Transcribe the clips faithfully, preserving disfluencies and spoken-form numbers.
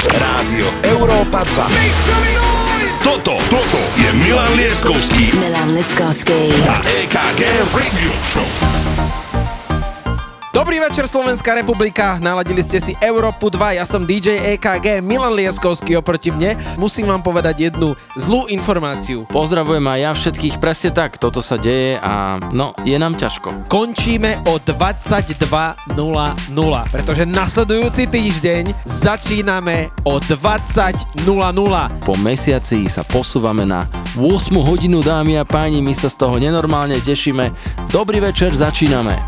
Rádio Európa dva. Toto, toto je Milan Lieskovský. Milan Lieskovský. A é ká gé Radio Show. Dobrý večer, Slovenská republika, naladili ste si Európu dva, ja som dý džej é ká gé, Milan Lieskovský oproti mne. Musím vám povedať jednu zlú informáciu. Pozdravujem aj ja všetkých, presne tak, toto sa deje a no, je nám ťažko. Končíme o dvadsaťdva nula nula, pretože nasledujúci týždeň začíname o dvadsať nula nula. Po mesiaci sa posúvame na ôsmu hodinu, dámy a páni, my sa z toho nenormálne tešíme. Dobrý večer, začíname.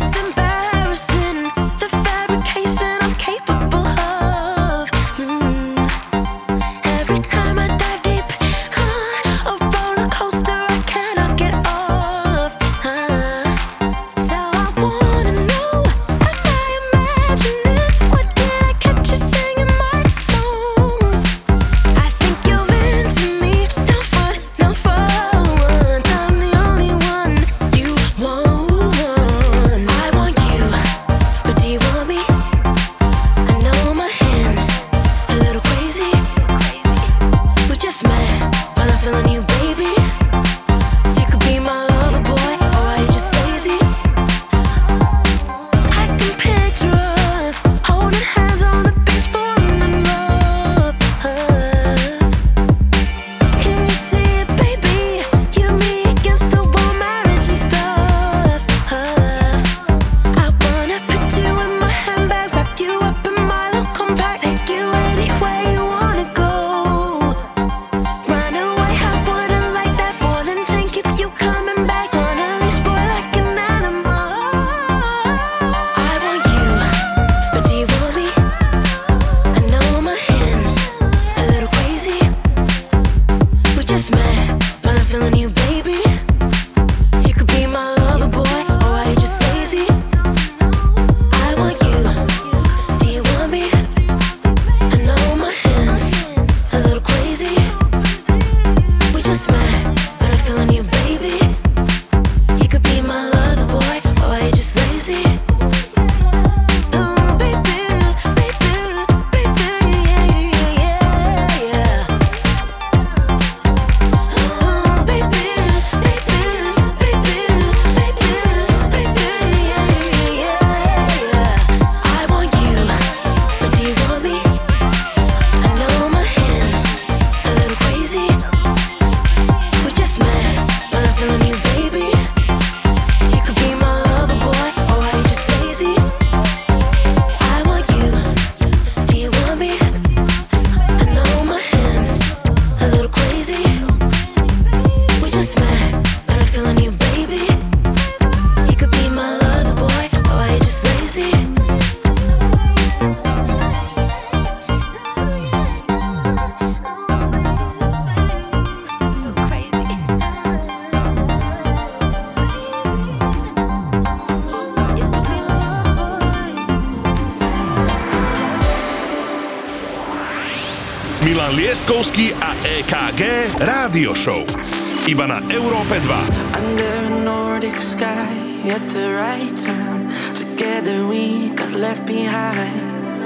Milan Lieskovský a é ká gé Radio Show. Iba na Európe dva. Under a Nordic sky at the right time. Together we got left behind.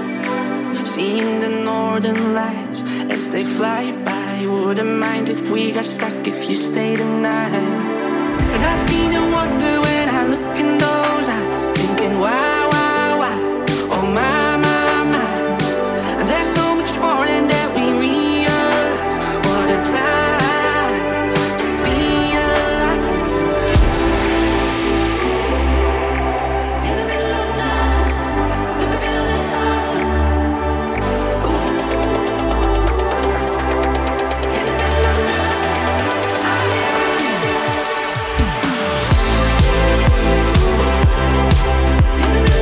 Seeing the northern lights as they fly by. Wouldn't mind if we got stuck if you stayed the night. And I see no wonder when I look in those eyes, thinking why, why, why, oh my, my, my. And there's so much more than that we realize. What a time to be alive. In the middle of night, in the middle of summer. In the middle of night, I hear it. In the middle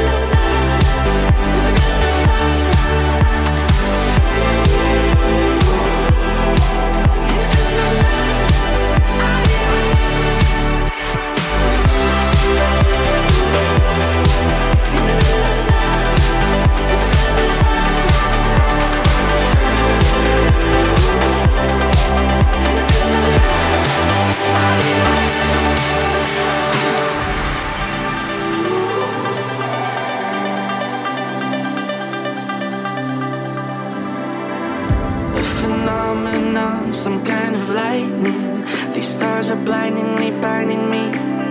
summon on some kind of lightning. These stars are blindingly burning me.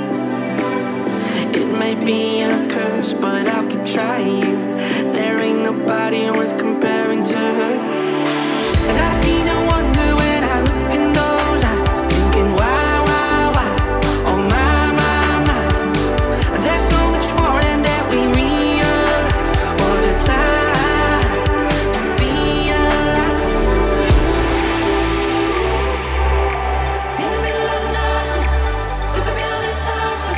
It may be a curse, but I'll keep trying. There ain't nobody worth comparing to her. And I see no wonder when I look in those eyes, thinking why, why, why, oh my, my, my. There's so much more than that we realize. What a time to be alive. In the middle of nothing, we could build a something.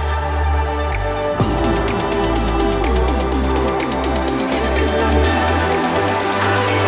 In the middle of nothing, I'll be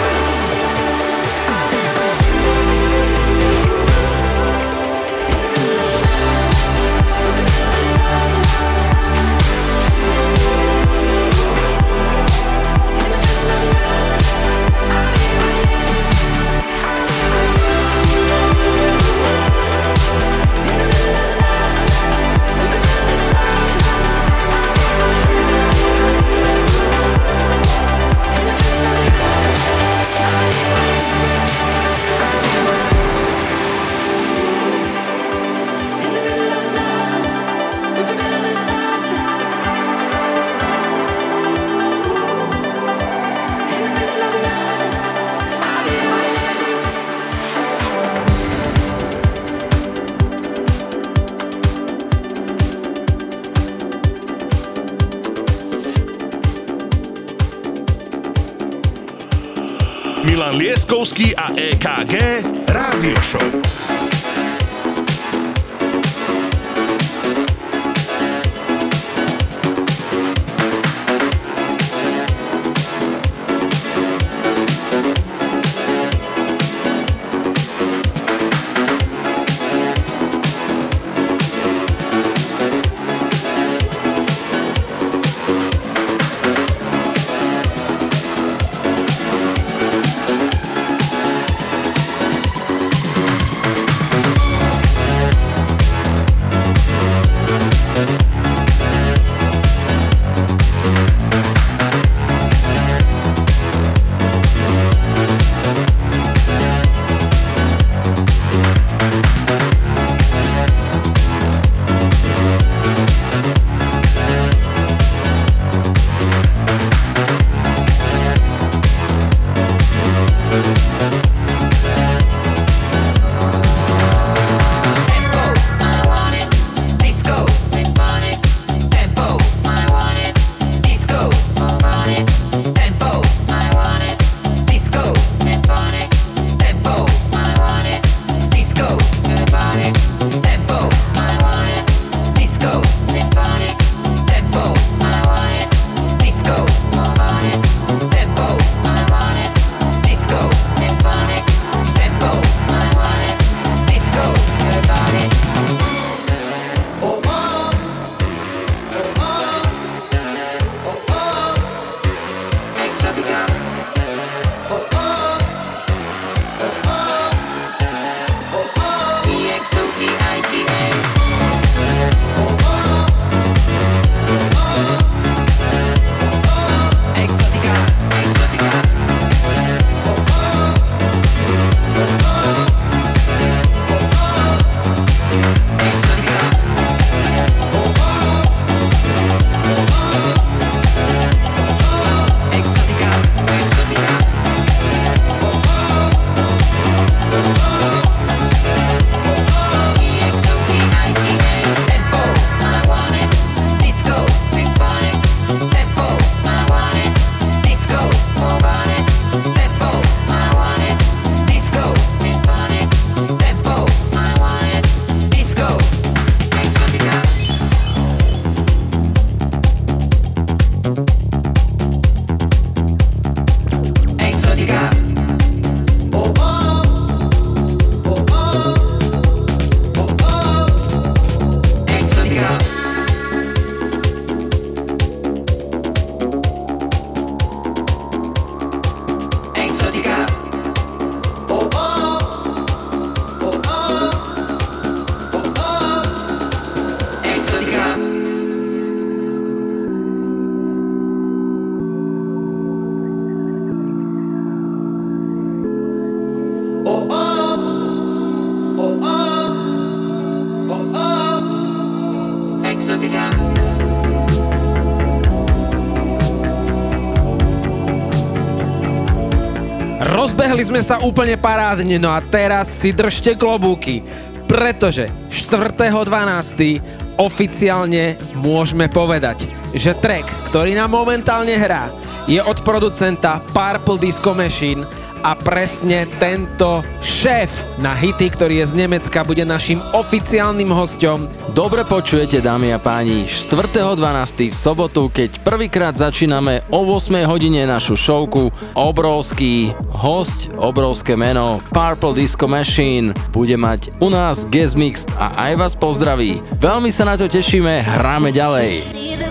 Milan Lieskovský a é ká gé Rádio Show. Rozbehli sme sa úplne parádne, no a teraz si držte klobúky, pretože štvrtého dvanásteho oficiálne môžeme povedať, že track, ktorý nám momentálne hrá, je od producenta Purple Disco Machine a presne tento šéf na hity, ktorý je z Nemecka, bude našim oficiálnym hosťom. Dobre počujete, dámy a páni, štvrtého dvanásteho v sobotu, keď prvýkrát začíname o ôsmej hodine našu showku. Obrovský host, obrovské meno, Purple Disco Machine, bude mať u nás guest mix a aj vás pozdraví. Veľmi sa na to tešíme, hráme ďalej.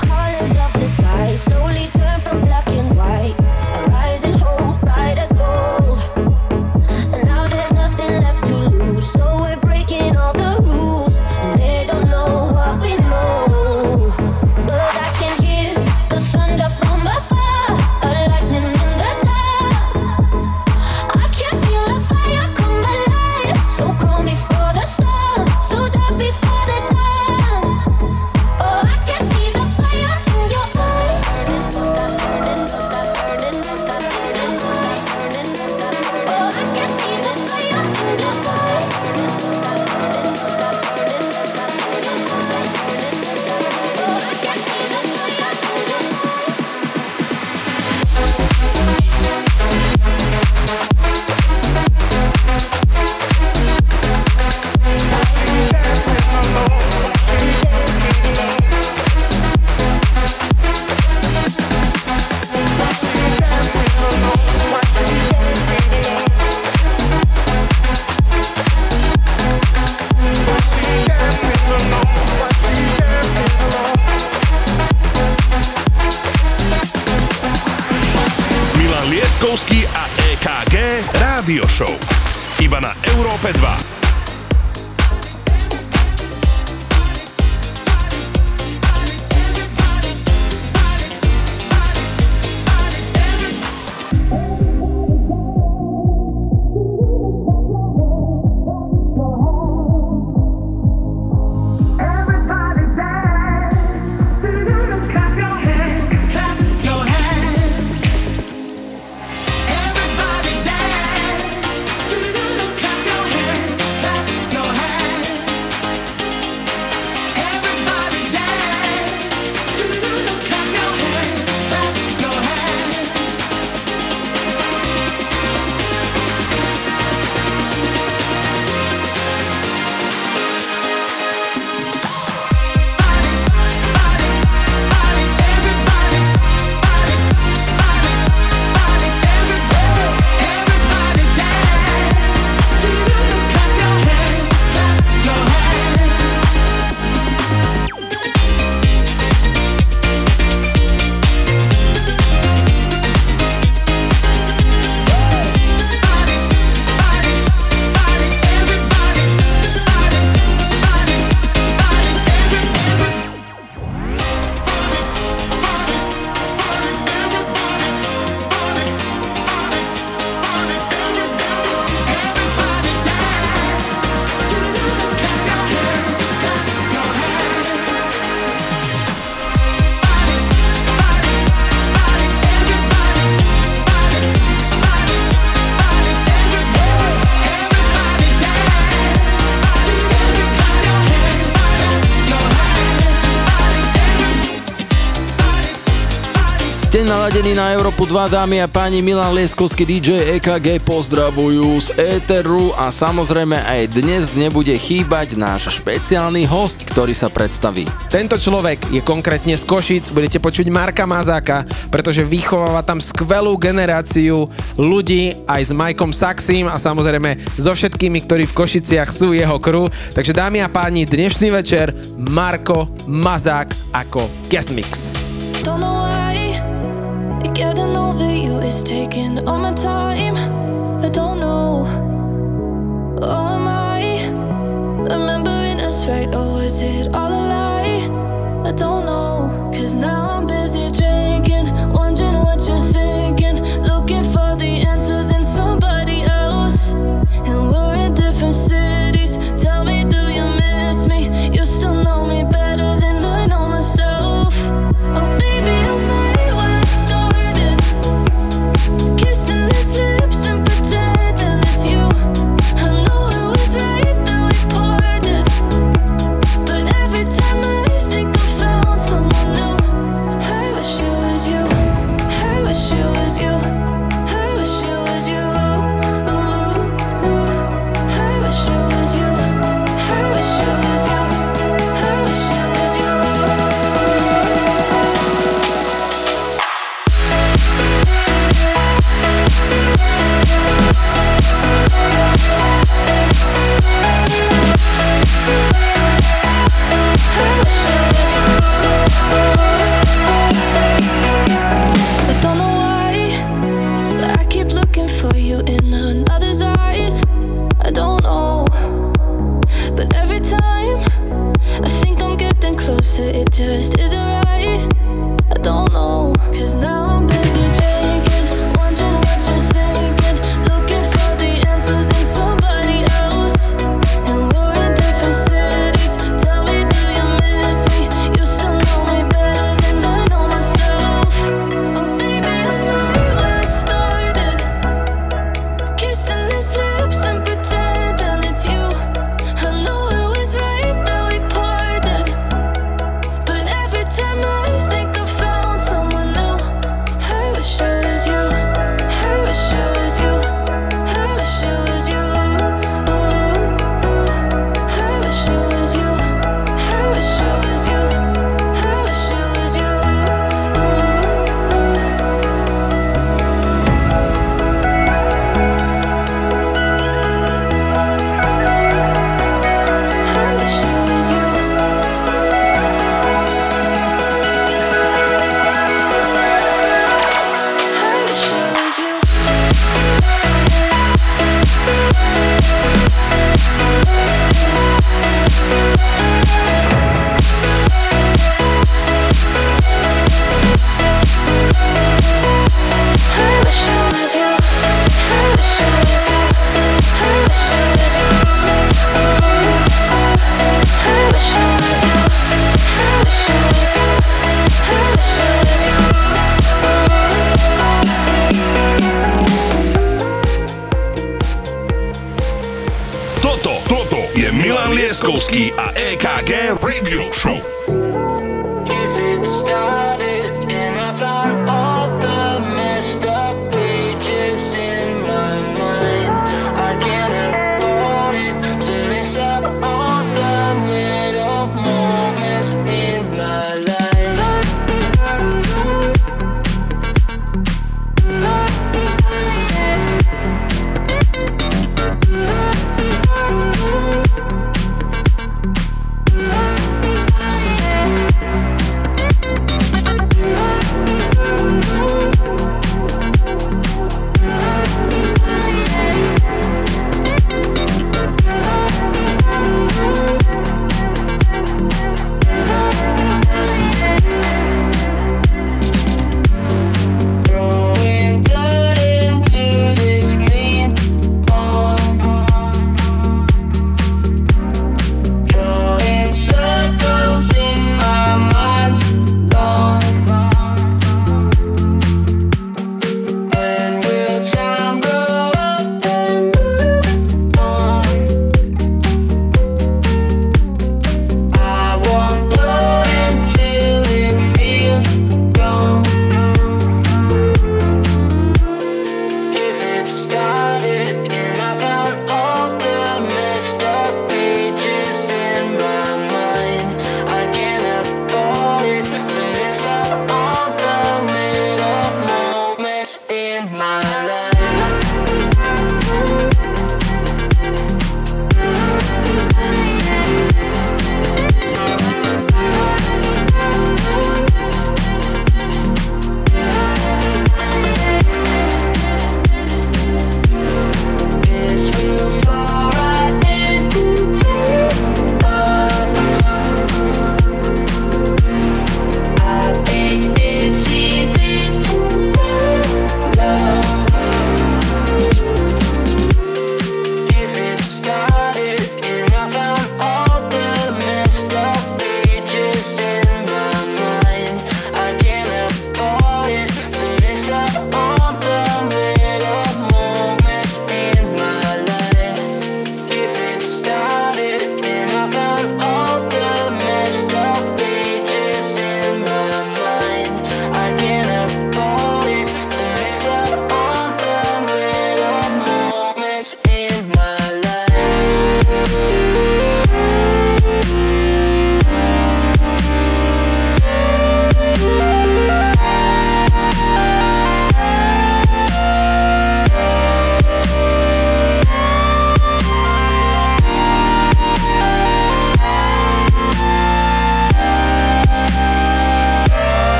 A é ká gé Rádio Show. Iba na Európe dva. Ste naladení na Európu dva, dámy a páni, Milan Lieskovský, dý džej é ká gé pozdravujú z éteru a samozrejme aj dnes nebude chýbať náš špeciálny host, ktorý sa predstaví. Tento človek je konkrétne z Košíc, budete počuť Marka Mazáka, pretože vychováva tam skvelú generáciu ľudí aj s Majkom Saxim a samozrejme so všetkými, ktorí v Košiciach sú jeho crew. Takže dámy a páni, dnešný večer Marko Mazák ako guest mix. Don't know why getting over you is taking all my time. I don't know. Oh, am I remembering us right, or is it all a lie? I don't know. Cause now I'm busy drinking, wondering what you're thinking, looking for the answers in somebody else. And we're in different cities. Tell me, do you miss me? You still know me better than I know in another's eyes. I don't know, but every time I think I'm getting closer, it just isn't right. I don't know, cause now I'm busy drinking, wondering what you're thinking, looking for the answers in somebody else. And we're in different cities. Tell me, do you miss me? You still know me better than I know myself. Oh baby, I'm right where I started, kissing his lips and pretending it's you. I know it was right that we parted, but every time I think I found someone new, I wish it was you, I wish it was you, I wish it was you. Ooh, ooh. I wish it was you, I wish it was you, I wish it was you. Ooh, ooh. I wish it was you. I wish it was you. I wish it was you. I wish it was you. I wish it was you. I wish it was you. I wish it was you. I wish it was you. Toto, toto je Milan Lieskovský a é ká gé Radio Show. If it started and I found all the messed up pages in my mind, I can't afford it to miss out on the little moments in my life.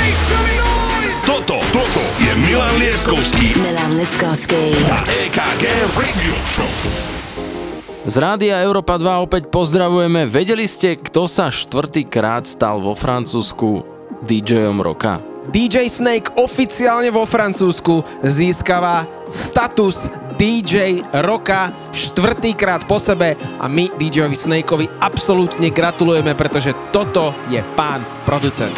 Toto, toto je Milan Lieskovský Milan Lieskovský a é ká gé Radio Show. Z Rádia Európa dva opäť pozdravujeme. Vedeli ste, kto sa štvrtýkrát stal vo Francúzsku dý džejom roka? dý džej Snake oficiálne vo Francúzsku získava status dý džej roka štvrtýkrát po sebe a my dý džejovi Snakeovi absolútne gratulujeme, pretože toto je pán producent.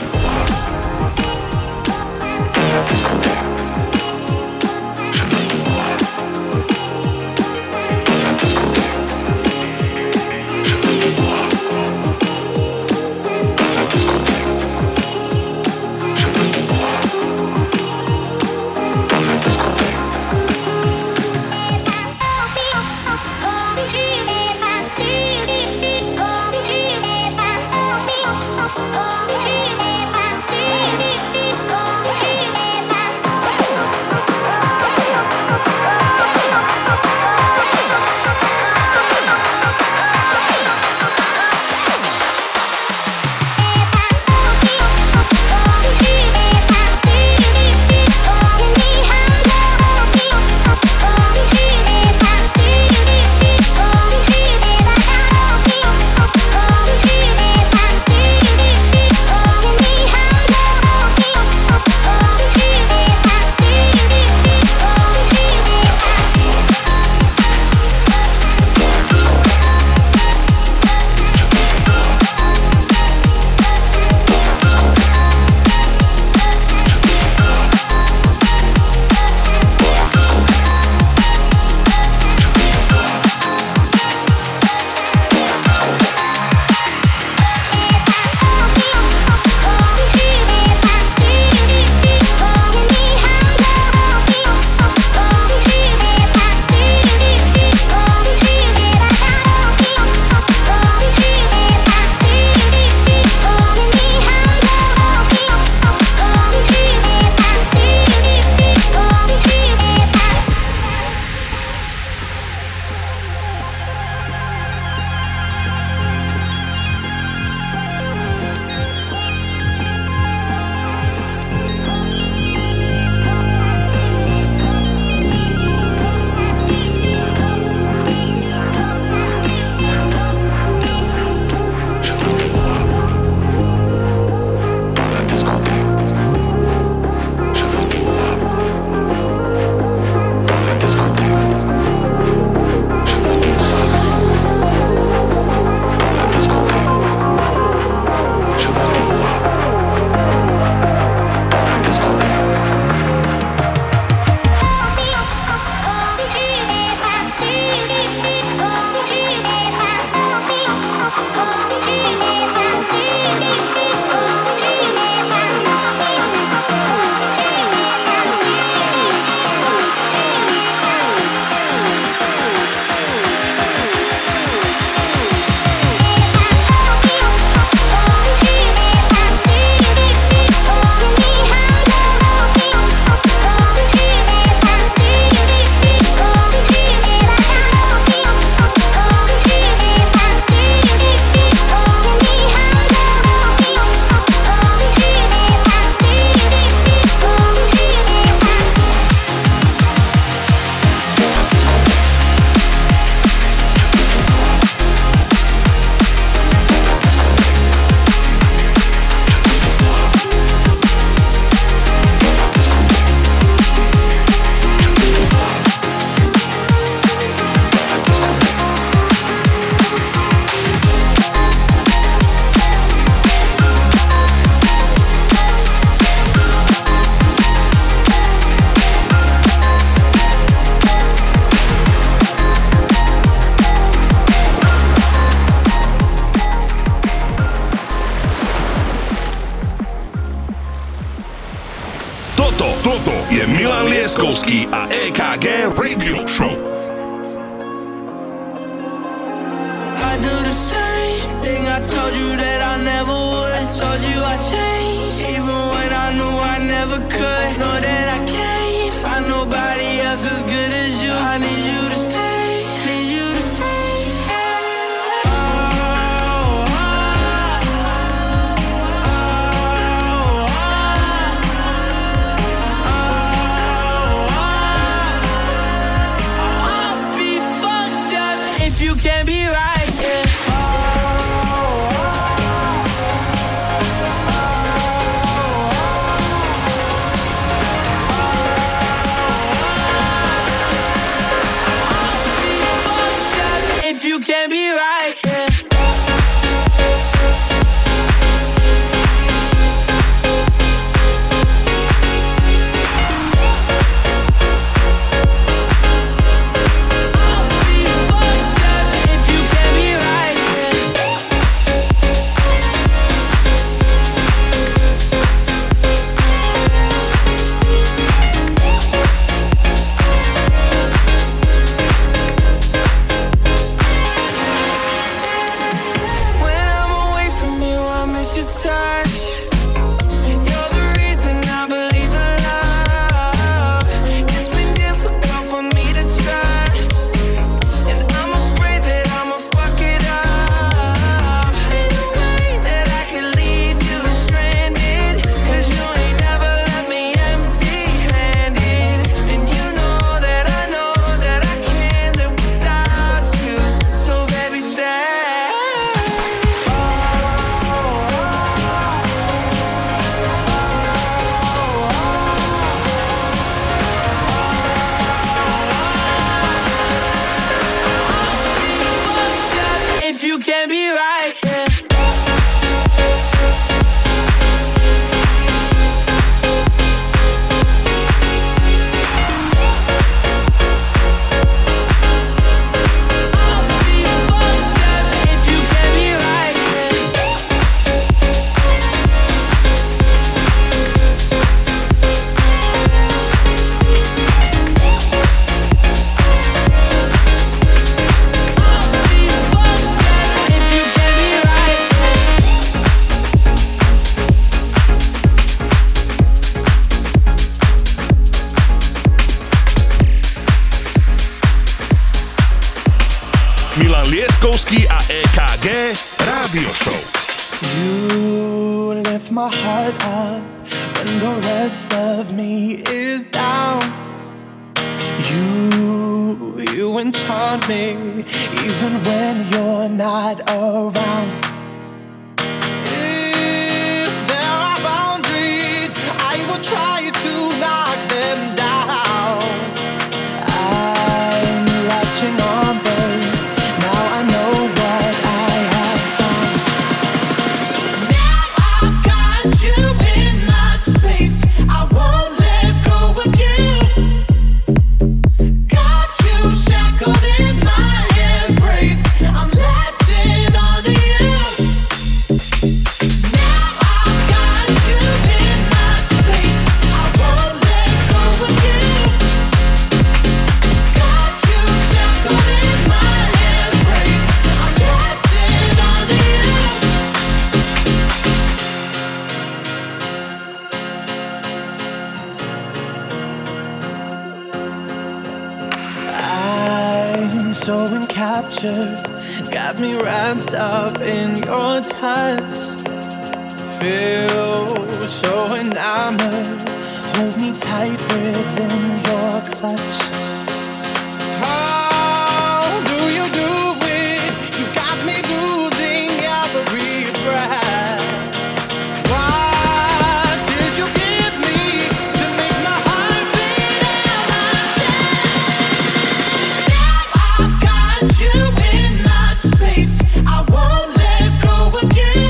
Lieskovský a é ká gé Radio Show. I do the same thing I told you that I never would. I told you I changed, even when I knew I never could. Know that I can't find nobody else as good as you. I need you to stay, need you to stay. Oh, oh, oh, oh, Lieskovský a é ká gé Rádio Show. You lift my heart up when the rest of me is down. You, you enchant me even when you're not around. If there are boundaries, I will try to knock them down. I'm latching on, babe. Now I know what I have found. Now I've got you in my space. I won't let go of you. Got you shackled in my embrace. I'm latching on to you. Now I've got you in my space. I won't let go of you. Got you shackled in my embrace. I'm latching on to you. I'm so encaptured, got me wrapped up in your touch. Feel so enamored, hold me tight within your clutch. How do you do it? You got me losing every breath. What did you give me to make my heart beat out my chest? Now I've got you in my space. I won't let go of you.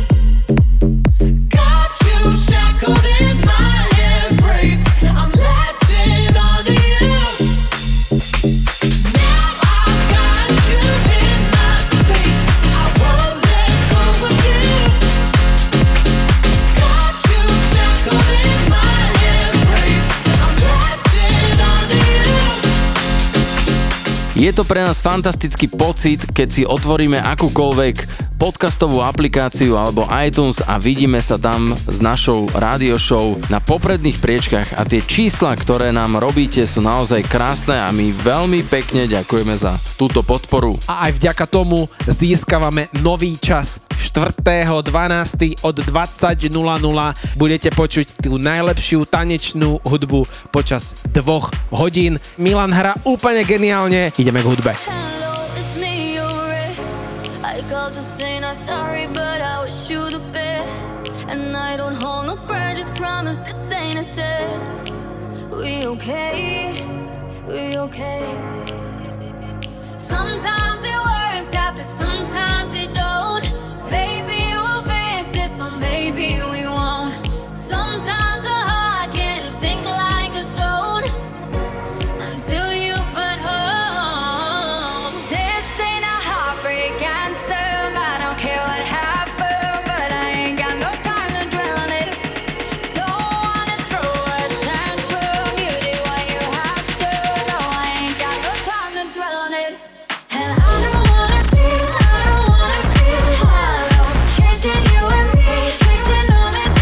Got you shackled in my embrace. I'm latching on to you. Now I've got you in my space. I won't let go of you. Got you shackled in my embrace. I'm latching on to you. Je to pre nás fantastický pocit, keď si otvoríme akúkoľvek podcastovú aplikáciu alebo iTunes a vidíme sa tam s našou rádio show na popredných priečkach a tie čísla, ktoré nám robíte, sú naozaj krásne a my veľmi pekne ďakujeme za túto podporu. A aj vďaka tomu získavame nový čas. štvrtého dvanásteho od dvadsať nula nula budete počuť tú najlepšiu tanečnú hudbu počas dvoch hodín. Milan hrá úplne geniálne. Ideme k hudbe. Hello, it's me, your ex. I called to say not sorry, but I wish you the best. And I don't hold no grudges, promise this ain't a test. We okay, we okay. Sometimes it works out, but sometimes it don't. Maybe we'll fix this, or maybe we won't. Sometimes a heart can sink like a stone until you find home. This ain't a heartbreak anthem. I don't care what happened, but I ain't got no time to dwell on it. Don't wanna throw a tantrum. You did what you have to. No, I ain't got no time to dwell on it. And I don't wanna feel, I don't wanna feel hollow. Chasing you and me, chasing on it.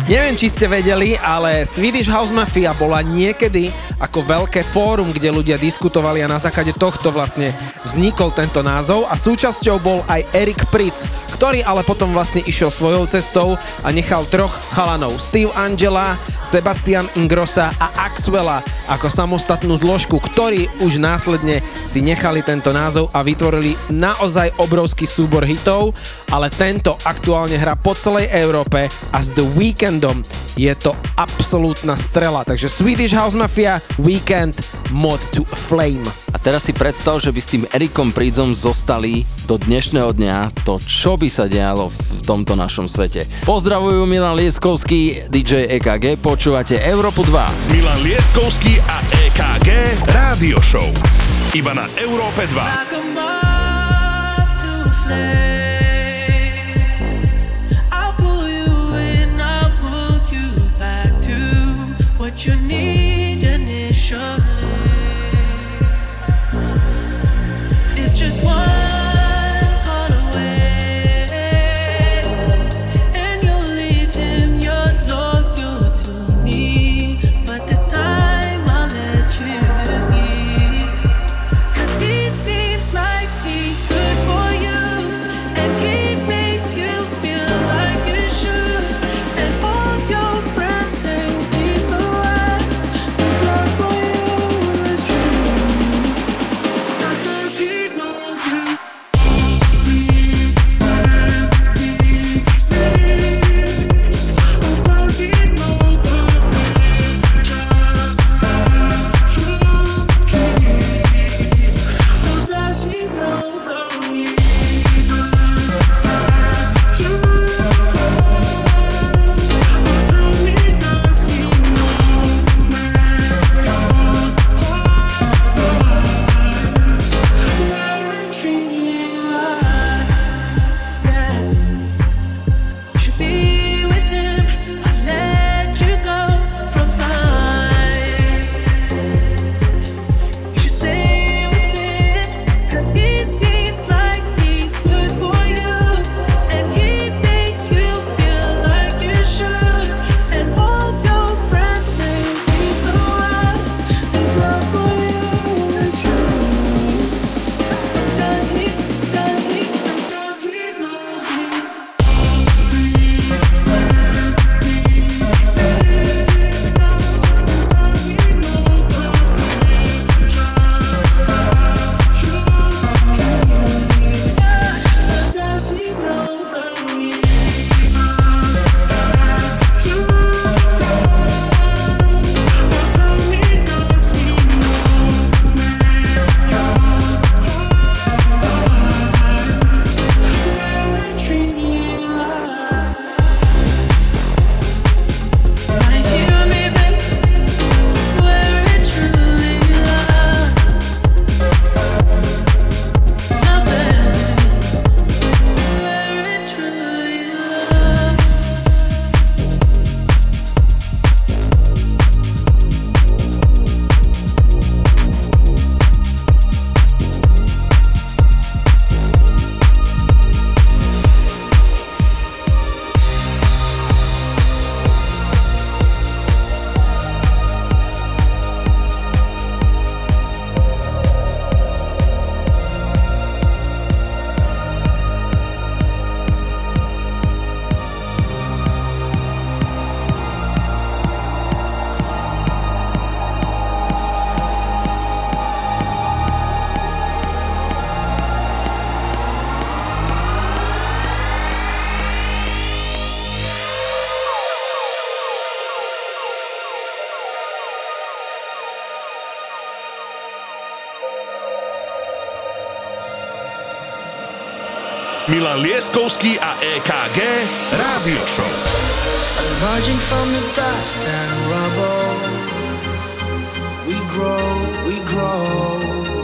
Neviem, či ste vedeli, ale Swedish House Mafia bola niekedy ako veľké fórum, kde ľudia diskutovali a na základe tohto vlastne vznikol tento názov a súčasťou bol aj Erik Pritz, ktorý ale potom vlastne išiel svojou cestou a nechal troch chalanov, Steve Angela, Sebastian Ingrossa a Axwella ako samostatnú zložku, ktorí už následne si nechali tento názov a vytvorili naozaj obrovský súbor hitov, ale tento aktuálne hrá po celej Európe a s The Weekndom je to absolútna strela. Takže Swedish House Mafia, Weekend, Mod to Flame. A teraz si predstav, že by s tým Erikom Pritzom zostali do dnešného dňa to, čo by sa dialo v tomto našom svete. Pozdravujú Milan Lieskovský, dý džej é ká gé, počúvate Európu dva. Milan Lieskovský a é ká gé Rádio Show. Iba na Európe dva. What you need initially. It's just one call away, and you'll leave him. You're loyal to me, but this time I'll let you be. 'Cause he seems like he's good for you, and he makes you feel like you should, and all your friends say he's the Milan Lieskovský a é ká gé Rádio Show. Emerging from the dust and rubble, we grow, we grow,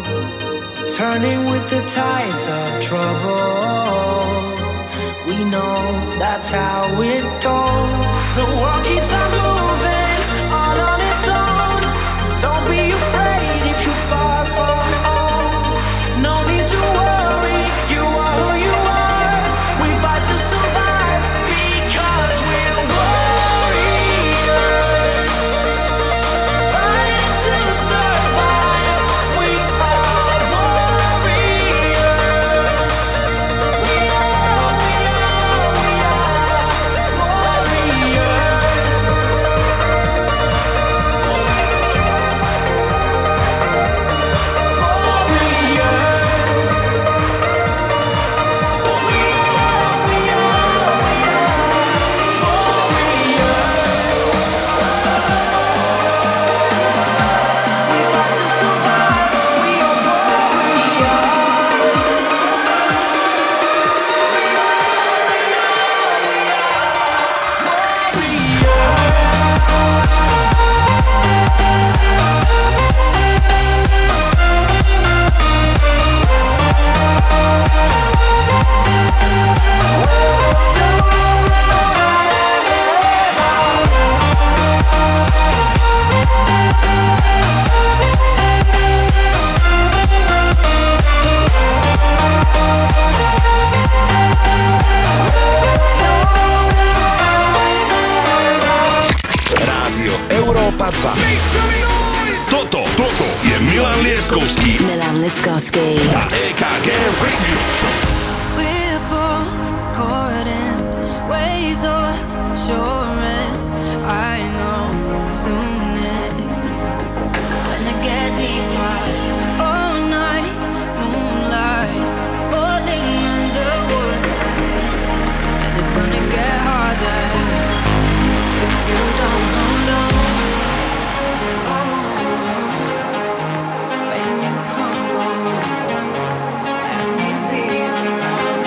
turning with the tides of trouble. We know that's how it goes. The world keeps on moving, all on its own. Don't be afraid if you fall from home. No need to worry, you are who you are. We fight to survive because we're warriors. dva. Toto, toto je Milan Lieskovský Milan Lieskovský a é ká gé Radio Show. We're both caught in waves of shore, and I know soon it's gonna get deeper. All night, moonlight, falling underwater, and it's gonna get harder if you don't hold on. When you can't go, let me be alone.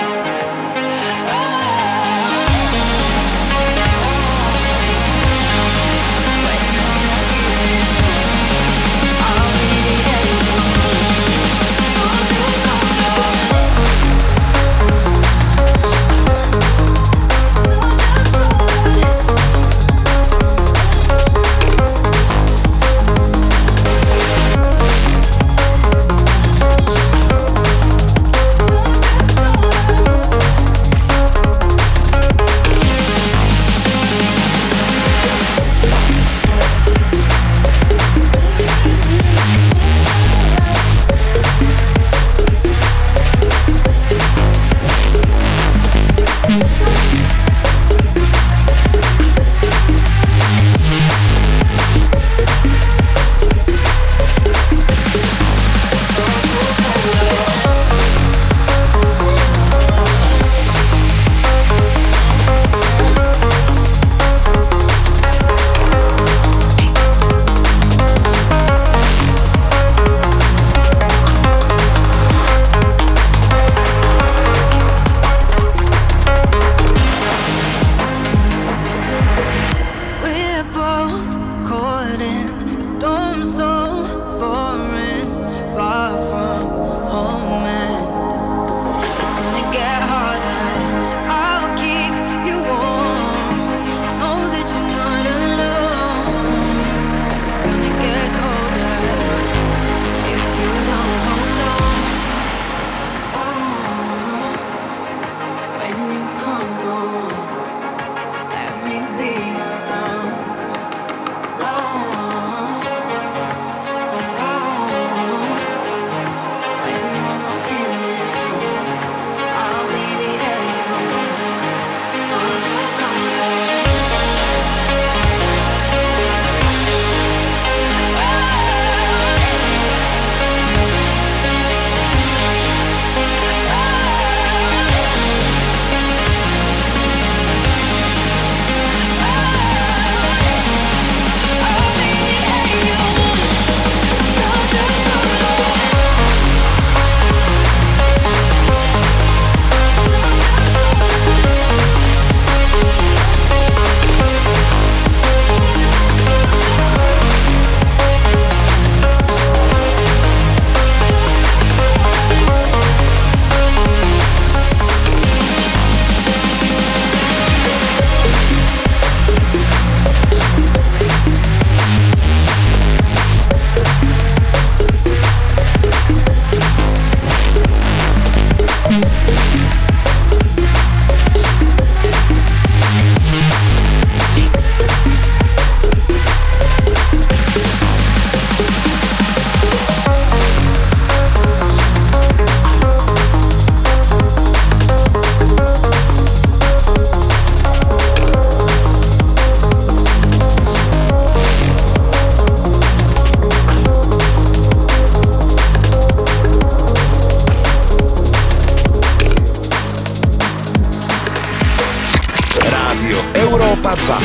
dva.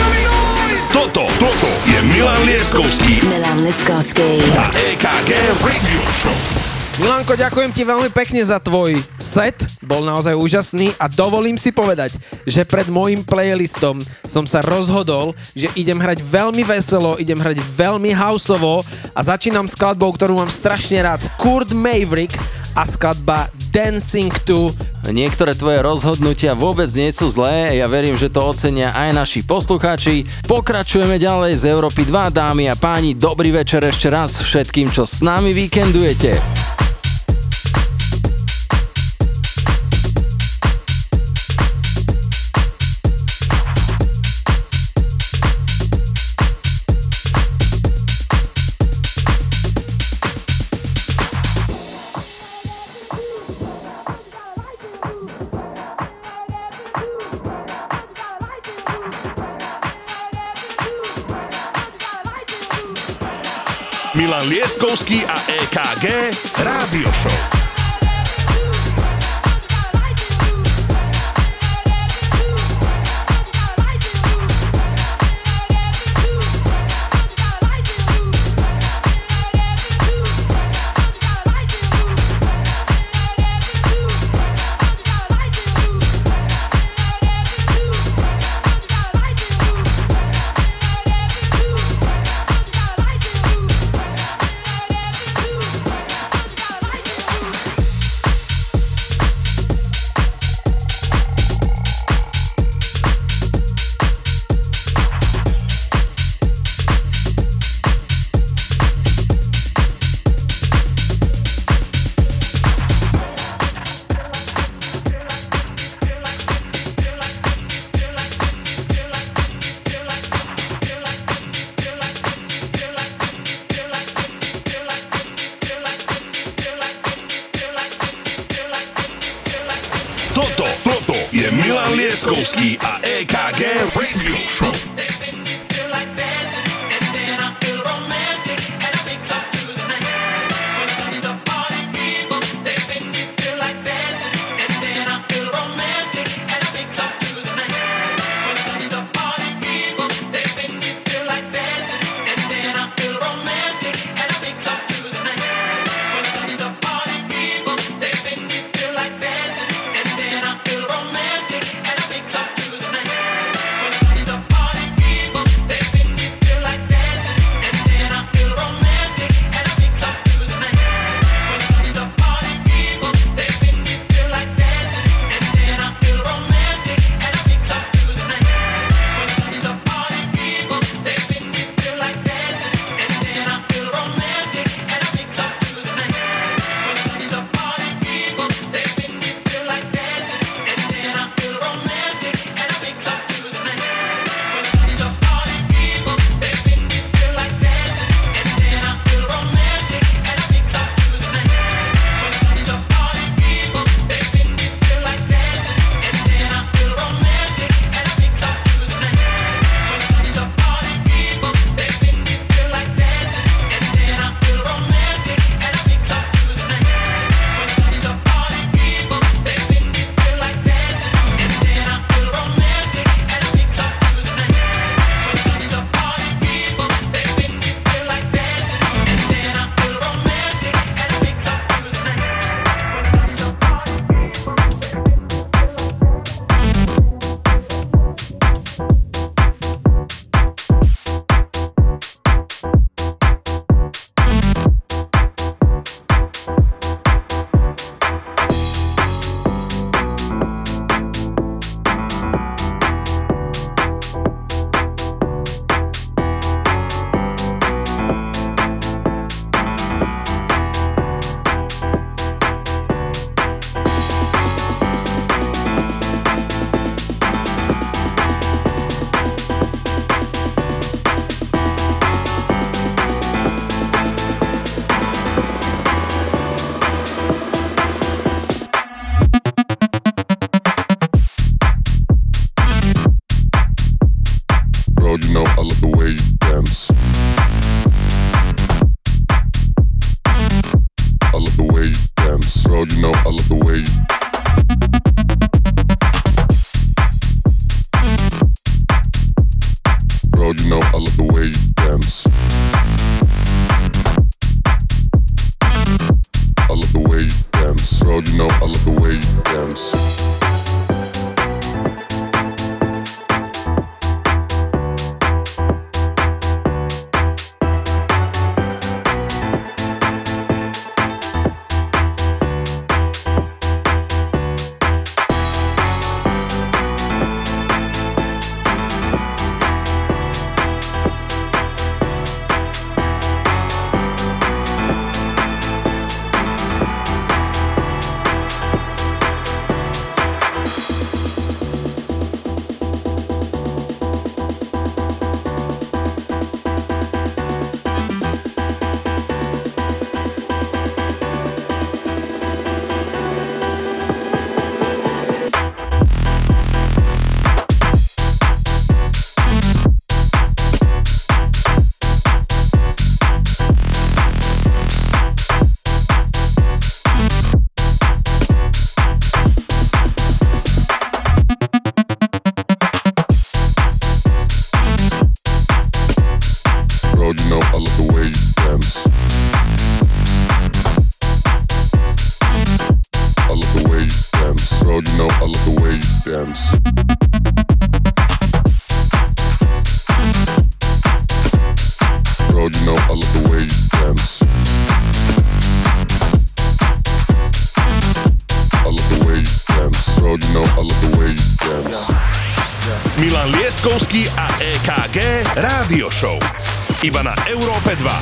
Toto, toto je Milan Lieskovský Milan Lieskovský a é ká gé Radio Show. Milanko, ďakujem ti veľmi pekne za tvoj set, bol naozaj úžasný a dovolím si povedať, že pred môjim playlistom som sa rozhodol, že idem hrať veľmi veselo, idem hrať veľmi houseovo a začínam skladbou, ktorú mám strašne rád, Kurt Maverick a skladba Dancing to. Niektoré tvoje rozhodnutia vôbec nie sú zlé, ja verím, že to ocenia aj naši poslucháči. Pokračujeme ďalej z Európy dva, dámy a páni, dobrý večer ešte raz všetkým, čo s nami víkendujete. Milan Lieskovský a é ká gé Rádio Show. Milan Lieskovský a é ká gé Radio Show. dance. Girl, you know I love the way you dance. I love the way you dance. Girl, you know I love the way you dance. Milan Lieskovský a é ká gé Rádio Show. Iba na Európe dva.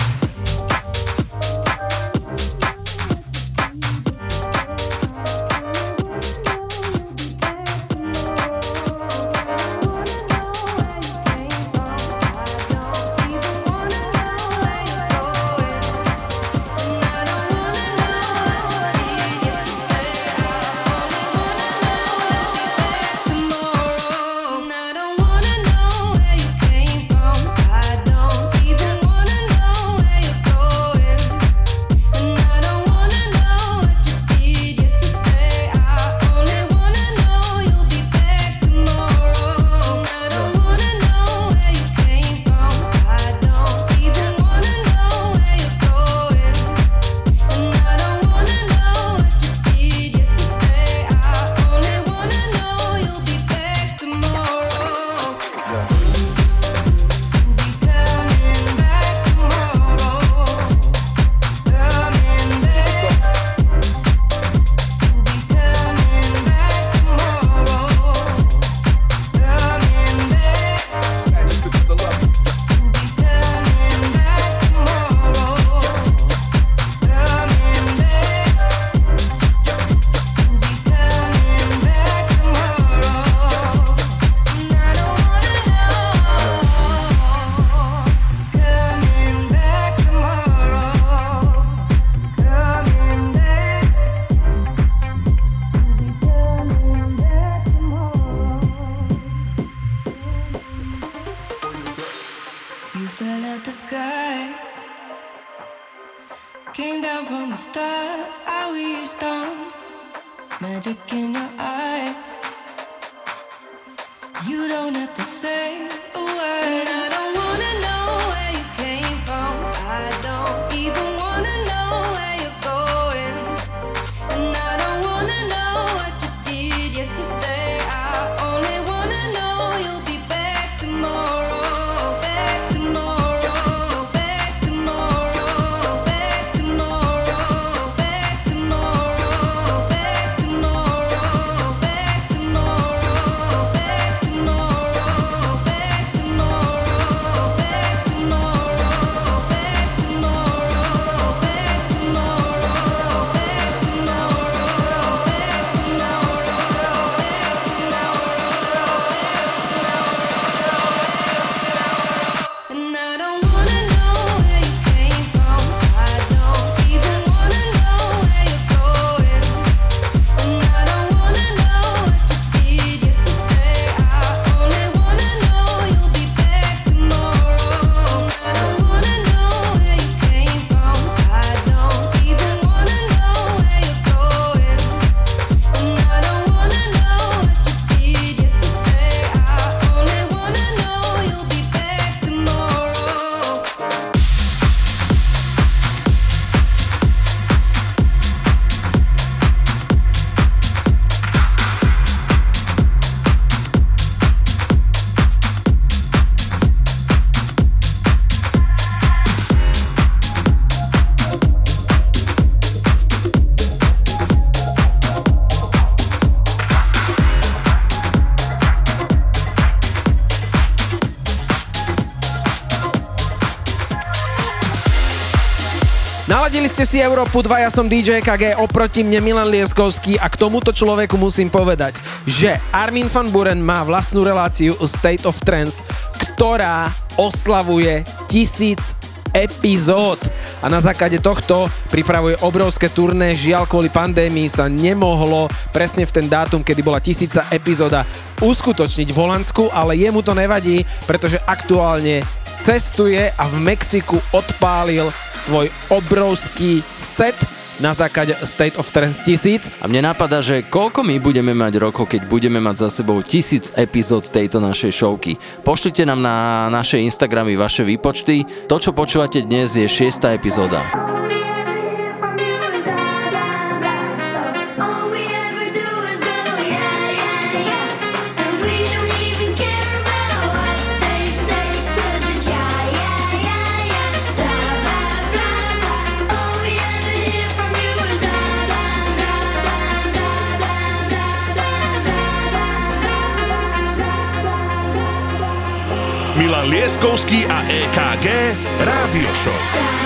Naladili ste si Európu dva, ja som dý džej é ká gé, oproti mne Milan Lieskovský a k tomuto človeku musím povedať, že Armin van Buuren má vlastnú reláciu State of Trance, ktorá oslavuje tisíc epizód a na základe tohto pripravuje obrovské turné. Žiaľ, kvôli pandémii sa nemohlo presne v ten dátum, kedy bola tisíca epizóda, uskutočniť v Holandsku, ale jemu to nevadí, pretože aktuálne cestuje a v Mexiku odpálil svoj obrovský set na základe State of Trance tisíc. A mne napadá, že koľko my budeme mať rokov, keď budeme mať za sebou tisíc epizód tejto našej showky. Pošlite nám na naše Instagramy vaše výpočty. To, čo počúvate dnes, je šiesta epizóda. All we ever do is go, yeah, yeah, yeah. Milan Lieskovský a é ká gé Rádio Show.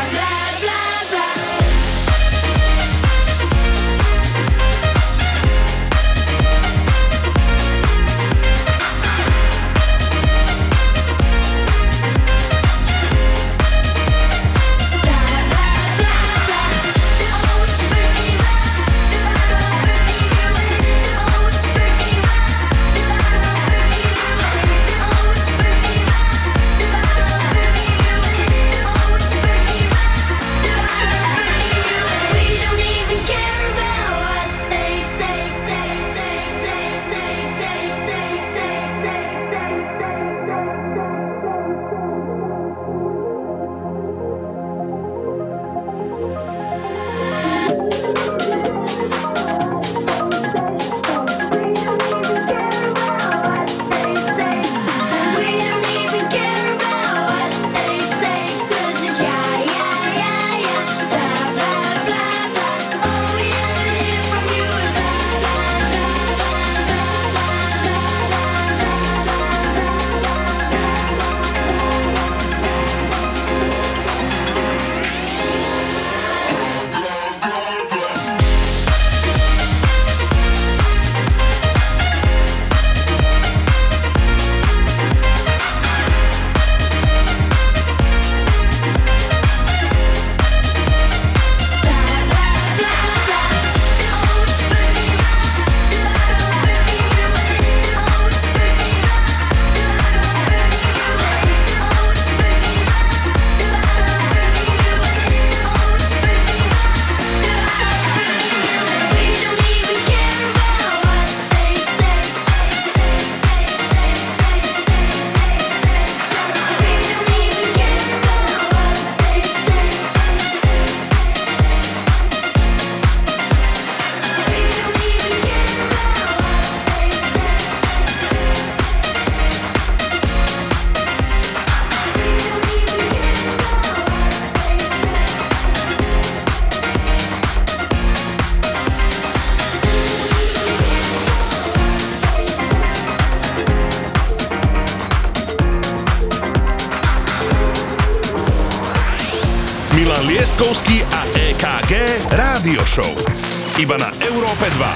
Milan Lieskovský a é ká gé Rádio Show. Iba na Európe dva.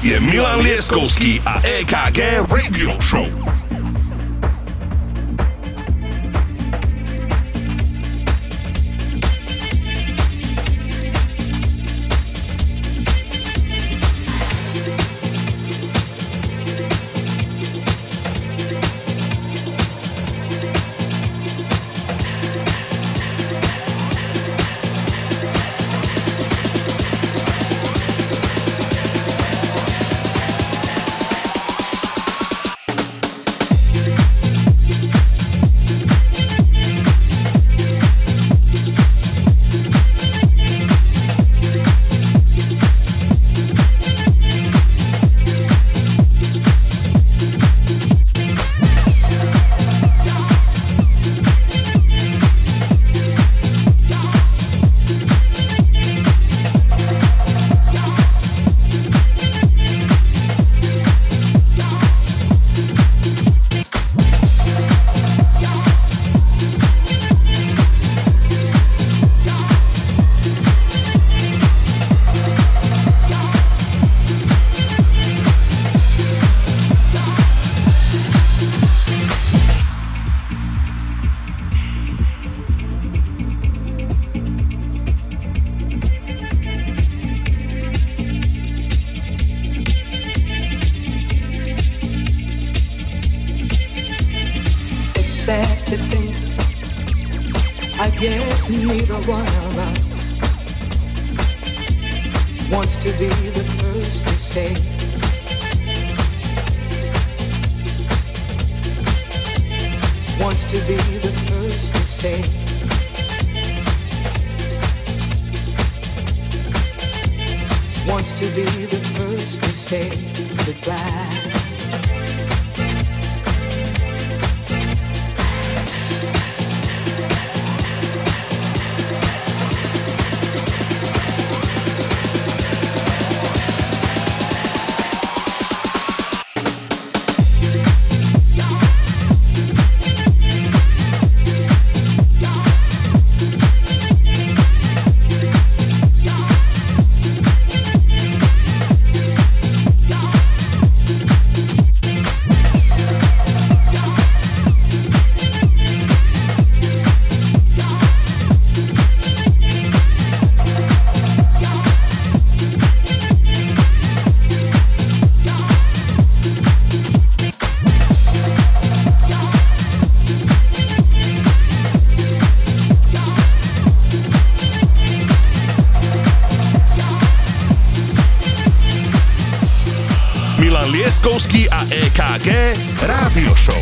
je Milan Lieskovský a é ká gé Radio Show. Neither one of us wants to be the first to say wants to be the first to say wants to be the first to say goodbye. Lieskovský a é ká gé Radio Show.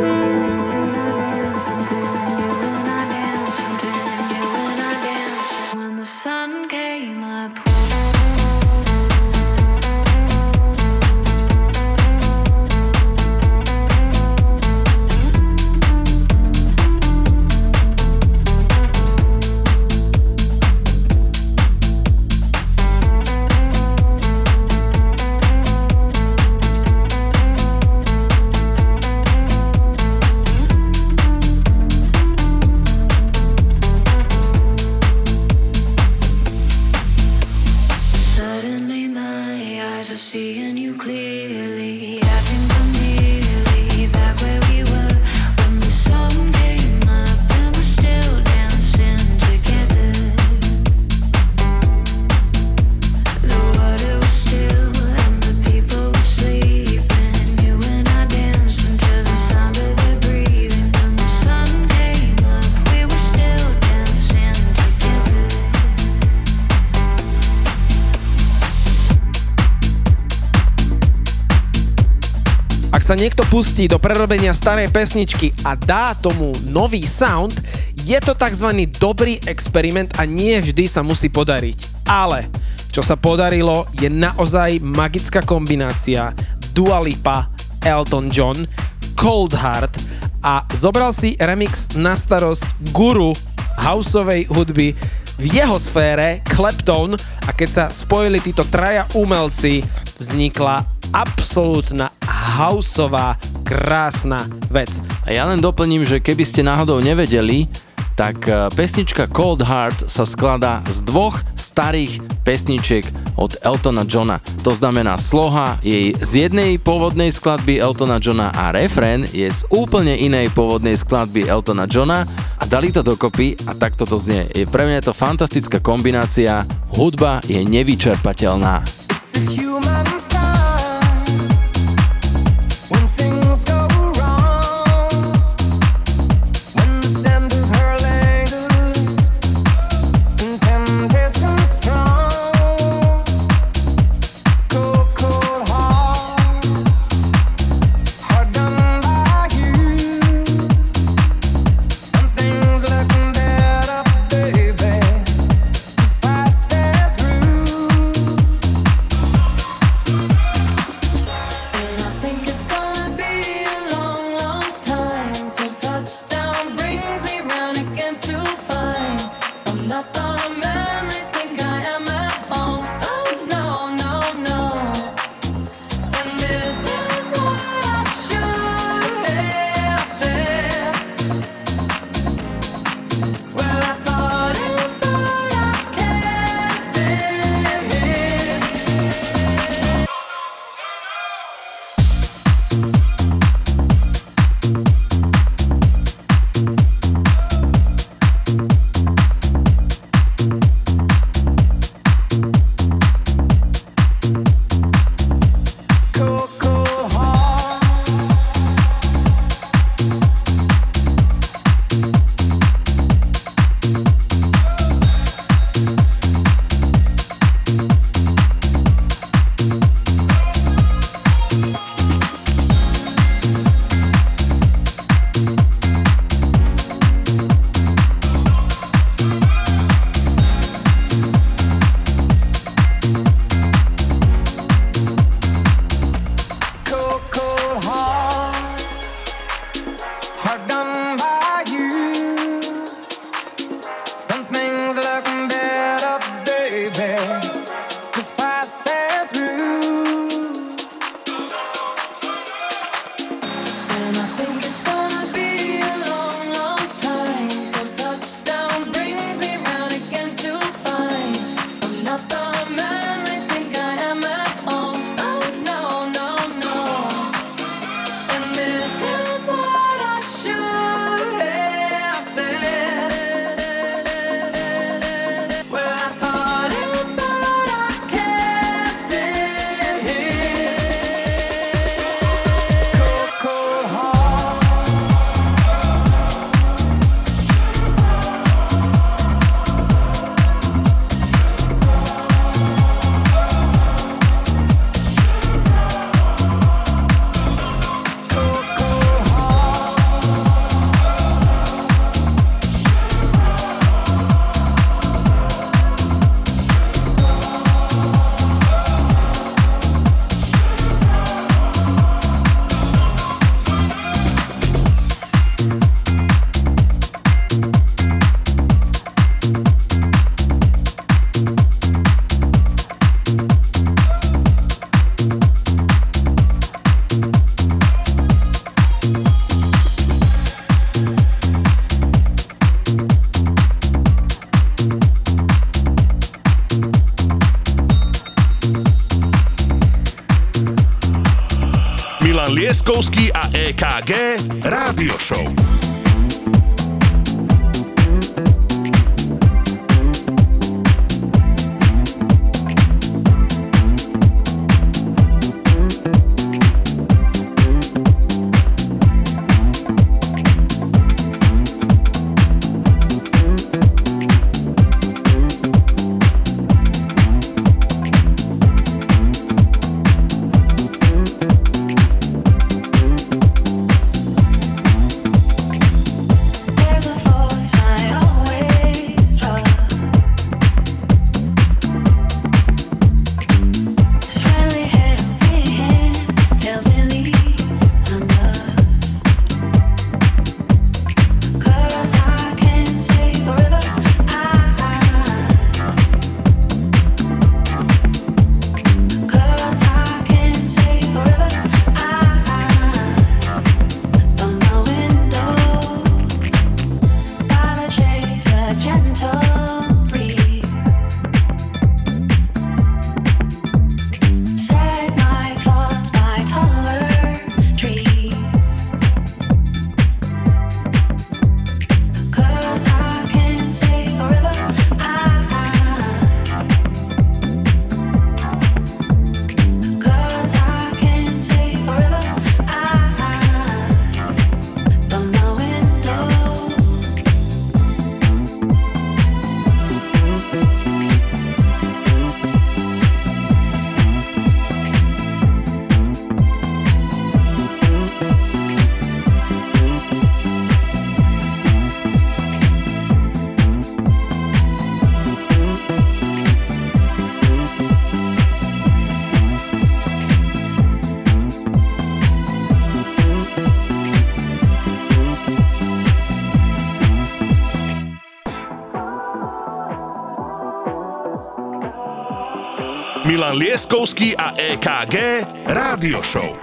Ak sa niekto pustí do prerobenia starej pesničky a dá tomu nový sound, je to tzv. Dobrý experiment a nie vždy sa musí podariť. Ale čo sa podarilo, je naozaj magická kombinácia Dua Lipa, Elton John, Cold Heart a zobral si remix na starosť guru houseovej hudby v jeho sfére, Clapton, a keď sa spojili títo traja umelci, vznikla absolútna houseová krásna vec. A ja len doplním, že keby ste náhodou nevedeli, tak pesnička Cold Heart sa skladá z dvoch starých pesničiek od Eltona Johna. To znamená, sloha je z jednej pôvodnej skladby Eltona Johna a refrén je z úplne inej pôvodnej skladby Eltona Johna a dali to dokopy a takto to znie. Je pre mňa to fantastická kombinácia, hudba je nevyčerpateľná. Lieskovský a é ká gé Rádio Show. Milan Lieskovský a é ká gé Rádio Show.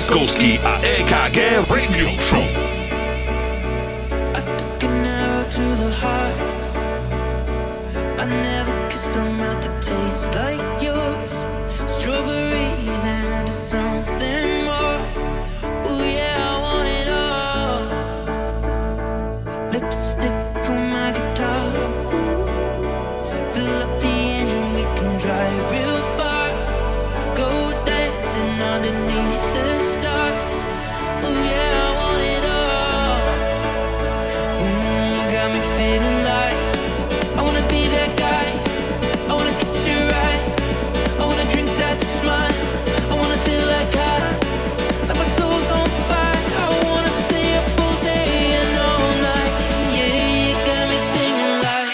Lieskovský a é ká gé Radio Show. I took an arrow to the heart. I never kissed a mouth that tastes like yours. Strawberries and something more. Ooh yeah, I want it all. Lipstick on my guitar. Fill up the engine, we can drive real far. Go dancing underneath the stars. Ooh yeah, I want it all. Ooh, got me feeling like I wanna be that guy. I wanna kiss your eyes. I wanna drink that smile. I wanna feel like I, like my soul's on fire. I wanna stay up all day and all night. Yeah, you got me singing like.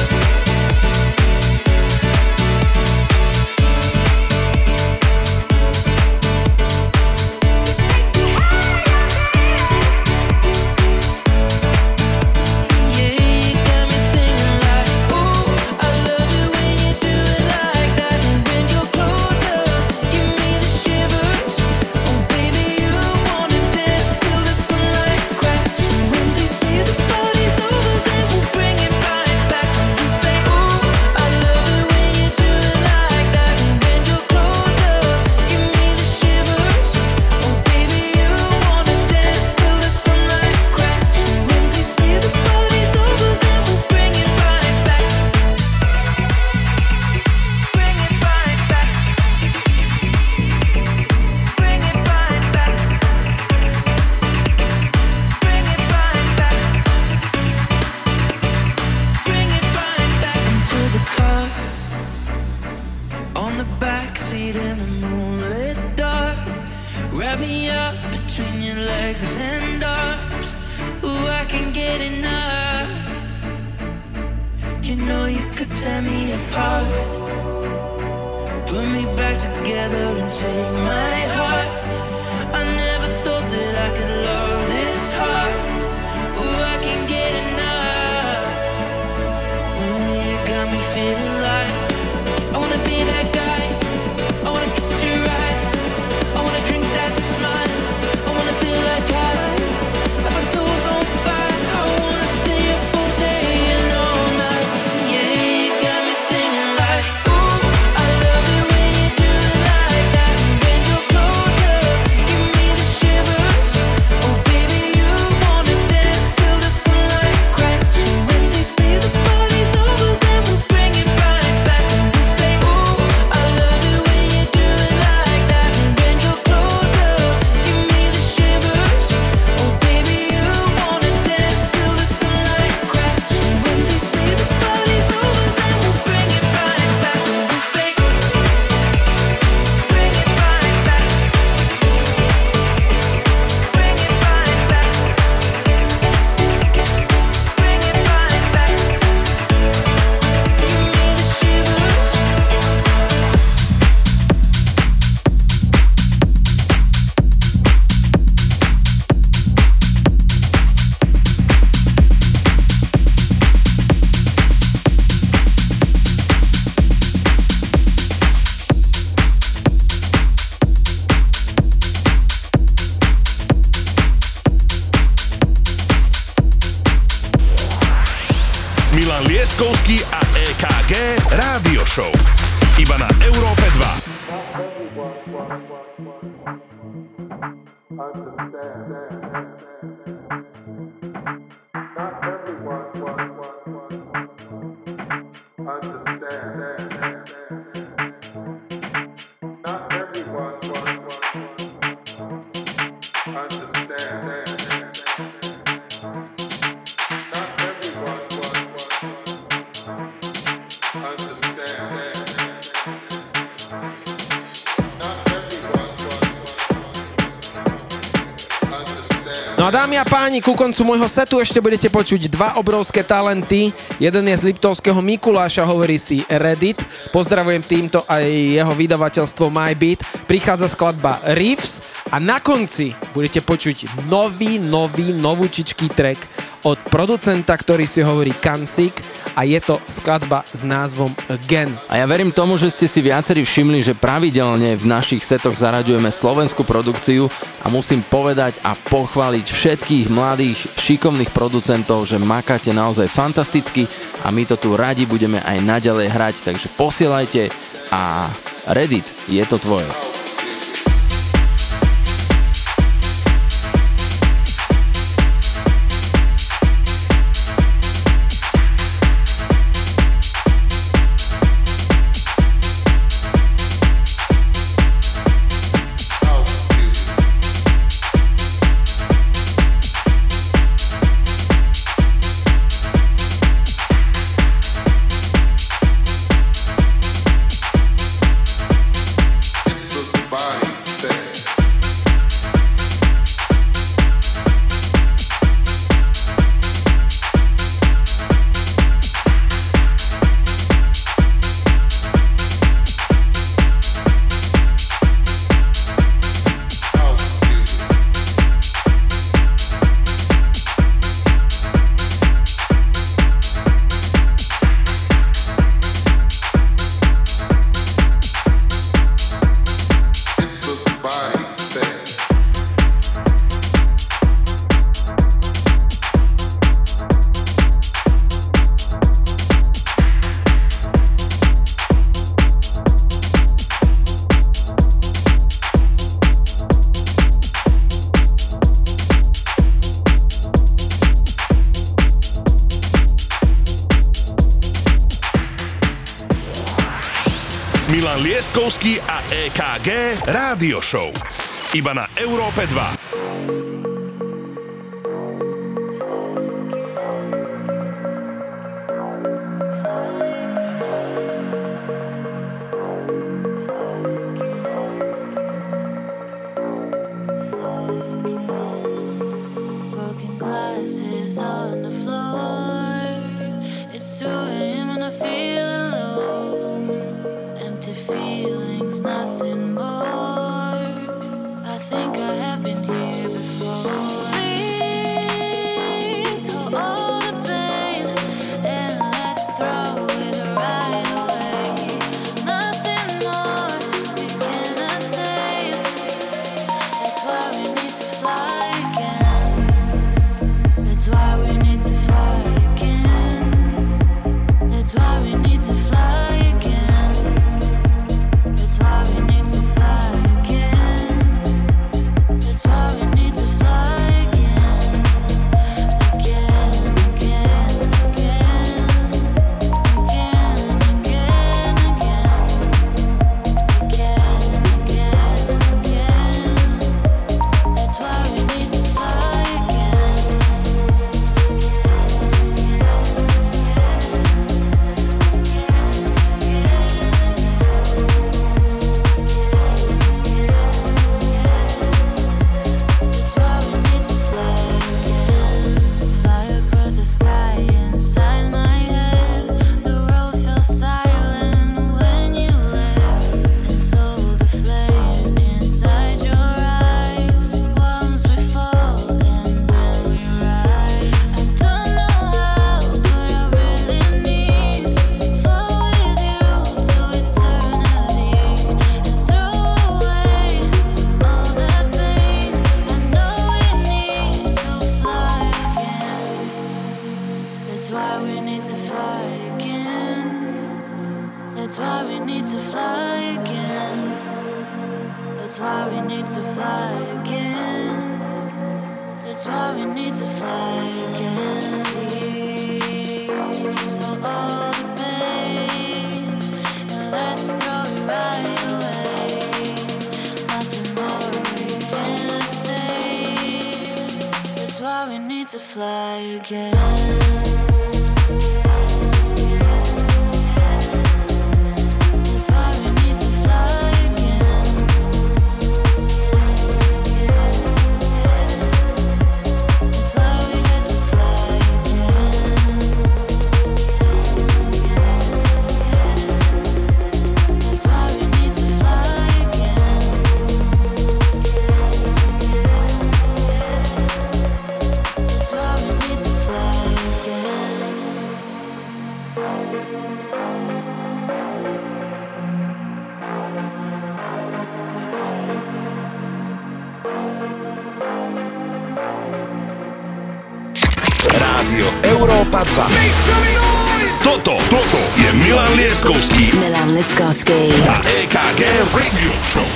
Yeah, you got me singing like. Ooh, I love it when you do it like that. And when you're closer, give me the shivers. Oh baby, you wanna dance till the sunlight cracks. And when they say the party's over, then we'll bring it right back. And we say, ooh, I love it when you do it like that. And when you're closer, give me the shivers. Oh baby, you wanna dance till the sunlight cracks. And when they say the party's over, then we'll bring it right back. Bring it right back. Bring it right back. Bring it right back. Bring it right back into the car. On the back seat in the moonlit dark. Wrap me up between your legs and arms. Ooh, I can get enough. You know you could tear me apart. Put me back together and take my heart. I never thought that I could love this hard. Ooh, I can get enough. Ooh, you got me feeling like I wanna be that guy. I wanna kiss your eyes. I wanna drink that smile. I wanna feel like I, like my soul's on fire. I wanna stay up all day and all night. Yeah, you got me singing like. Ooh, I love it when you do it like that. And when you're closer, give me the shivers. Oh baby, you wanna dance till the sunlight cracks. And when they say the party's over, then we'll bring it right back. And we say, ooh, I love it when you do it like that. And when you're closer, give me the shivers. Oh baby, you wanna dance till the sunlight cracks. And when they say the party's over, then we'll bring it right back. And we say, bring it right back. Bring it right back. Bring it right back. Give me the shivers. Milan Lieskovský a é ká gé Radio Show. Iba na Európe dva. No a dámy a páni, ku koncu môjho setu ešte budete počuť dva obrovské talenty. Jeden je z Liptovského Mikuláša, hovorí si Reddit. Pozdravujem týmto aj jeho vydavateľstvo MyBeat. Prichádza skladba Riffs a na konci budete počuť nový, nový, novúčičký track od producenta, ktorý si hovorí Kansik a je to skladba s názvom Again. A ja verím tomu, že ste si viacerí všimli, že pravidelne v našich setoch zaraďujeme slovenskú produkciu a musím povedať a pochváliť všetkých mladých, šikovných producentov, že makáte naozaj fantasticky a my to tu radi budeme aj naďalej hrať, takže posielajte a Reddit, je to tvoje. Milan Lieskovský a é ká gé Rádio Show. Iba na Európe dva. Rádio Európa dva. Toto, toto je Milan Lieskovský Milan Lieskovský a é ká gé Radio Show.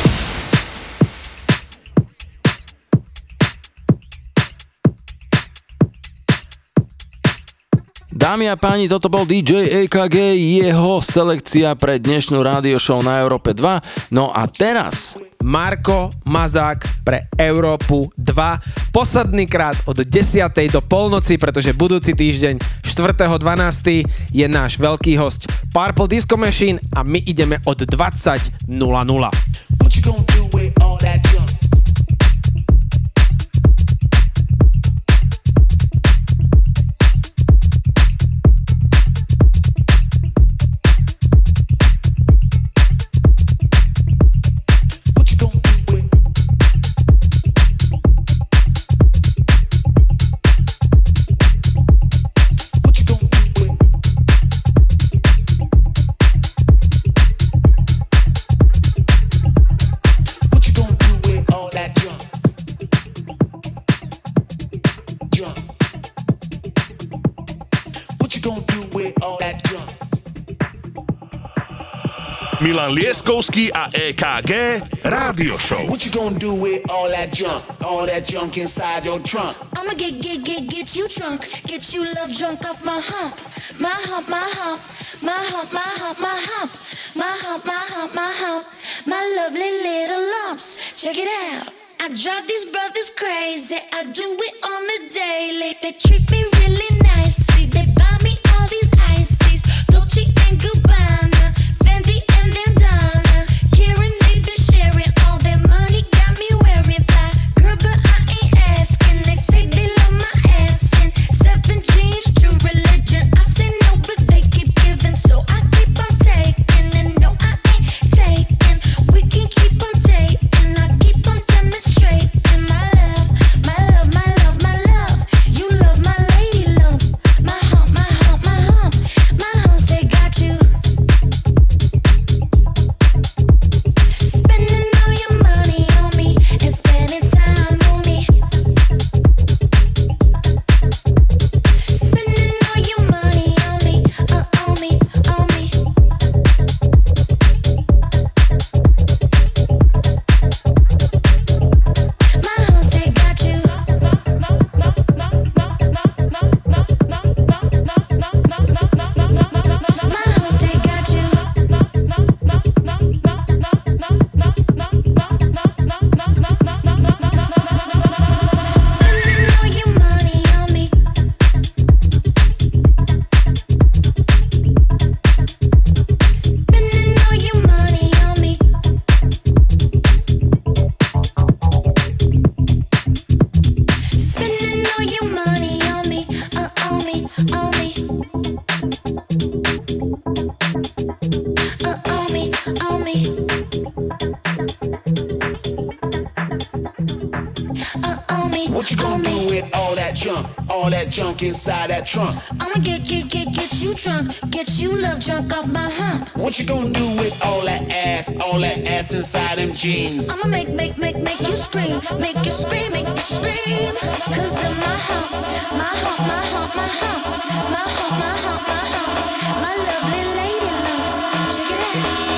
Dámy a páni, toto bol dý džej é ká gé, jeho selekcia pre dnešnú rádio show na Európe dva. No a teraz Marko Mazák pre Európu dva. Posledný krát od desiatej do polnoci, pretože budúci týždeň štvrtého dvanásteho je náš veľký hosť Purple Disco Machine a my ideme od dvadsať nula nula. Milan Lieskovský a é ká gé Rádio Show. What you gonna do with all that junk, all that junk inside your trunk? I'ma get, get, get, get you drunk, get you love drunk off my hump, my hump, my hump, my hump, my hump, my hump, my hump, my hump, my hump, my lovely little lumps. Check it out. I drive these brothers crazy. I do it on the daily. They treat me really nicely. They buy me all these ices, Dolce and Gabbana, Fendi and Bandana. Karen, they been sharing all their money, got me wearing fly. Girl, but I ain't asking. They say they love my ass and seven jeans, true religion. I say no, but they keep giving, so I keep on taking. And no, I ain't taking. We can keep on taking. I keep on demonstrating my love, my love, my love, my love. You love my lady lump, my hump, my hump, my hump, my hump. They got you. Spending all your money on me and spending time on me. Spending all your money on me, uh, on me, on me. My hump, they got you. My hump, they got you. Spending all your money on me. Spending all your money on me. Spending all your money on me, uh, on me, on me. Uh, on me, on me. Uh, on me, What you gonna on do me. with all that junk, all that junk inside that trunk? I'ma get, get, get, get you drunk, get you love drunk off my hump. What you gonna do with all that ass, all that ass inside them jeans? I'ma make, make, make, make you scream, make you scream, make you scream. Cause of my hump, my hump, my hump, my hump, my hump, my hump, my hump, my lovely lady lumps. Check it out.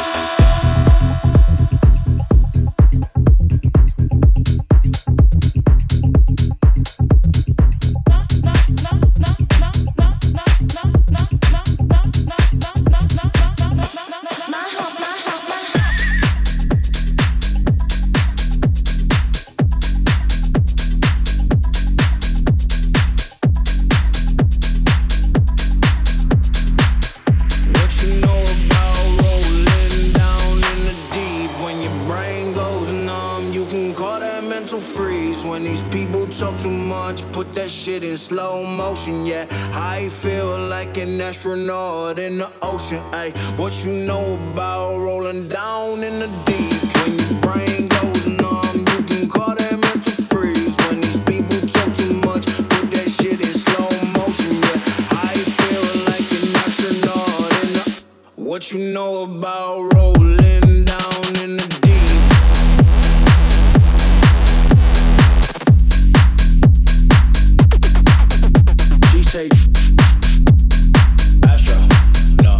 My hump, my hump, my hump. What you know about rolling down in the deep? When your brain goes numb, you can call that mental freeze. When these people talk too much, put that shit in slow motion. Yeah, I feel like an astronaut in the ocean. Ay, what you know about rolling down in the deep? When your brain goes numb, you can call that mental freeze. When these people talk too much, put that shit in slow motion. Yeah, I feel like an astronaut in the. What you know about rolling down in the deep? She say Astro, no.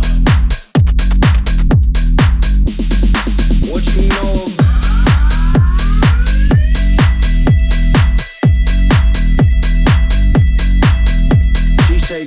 What you know about She say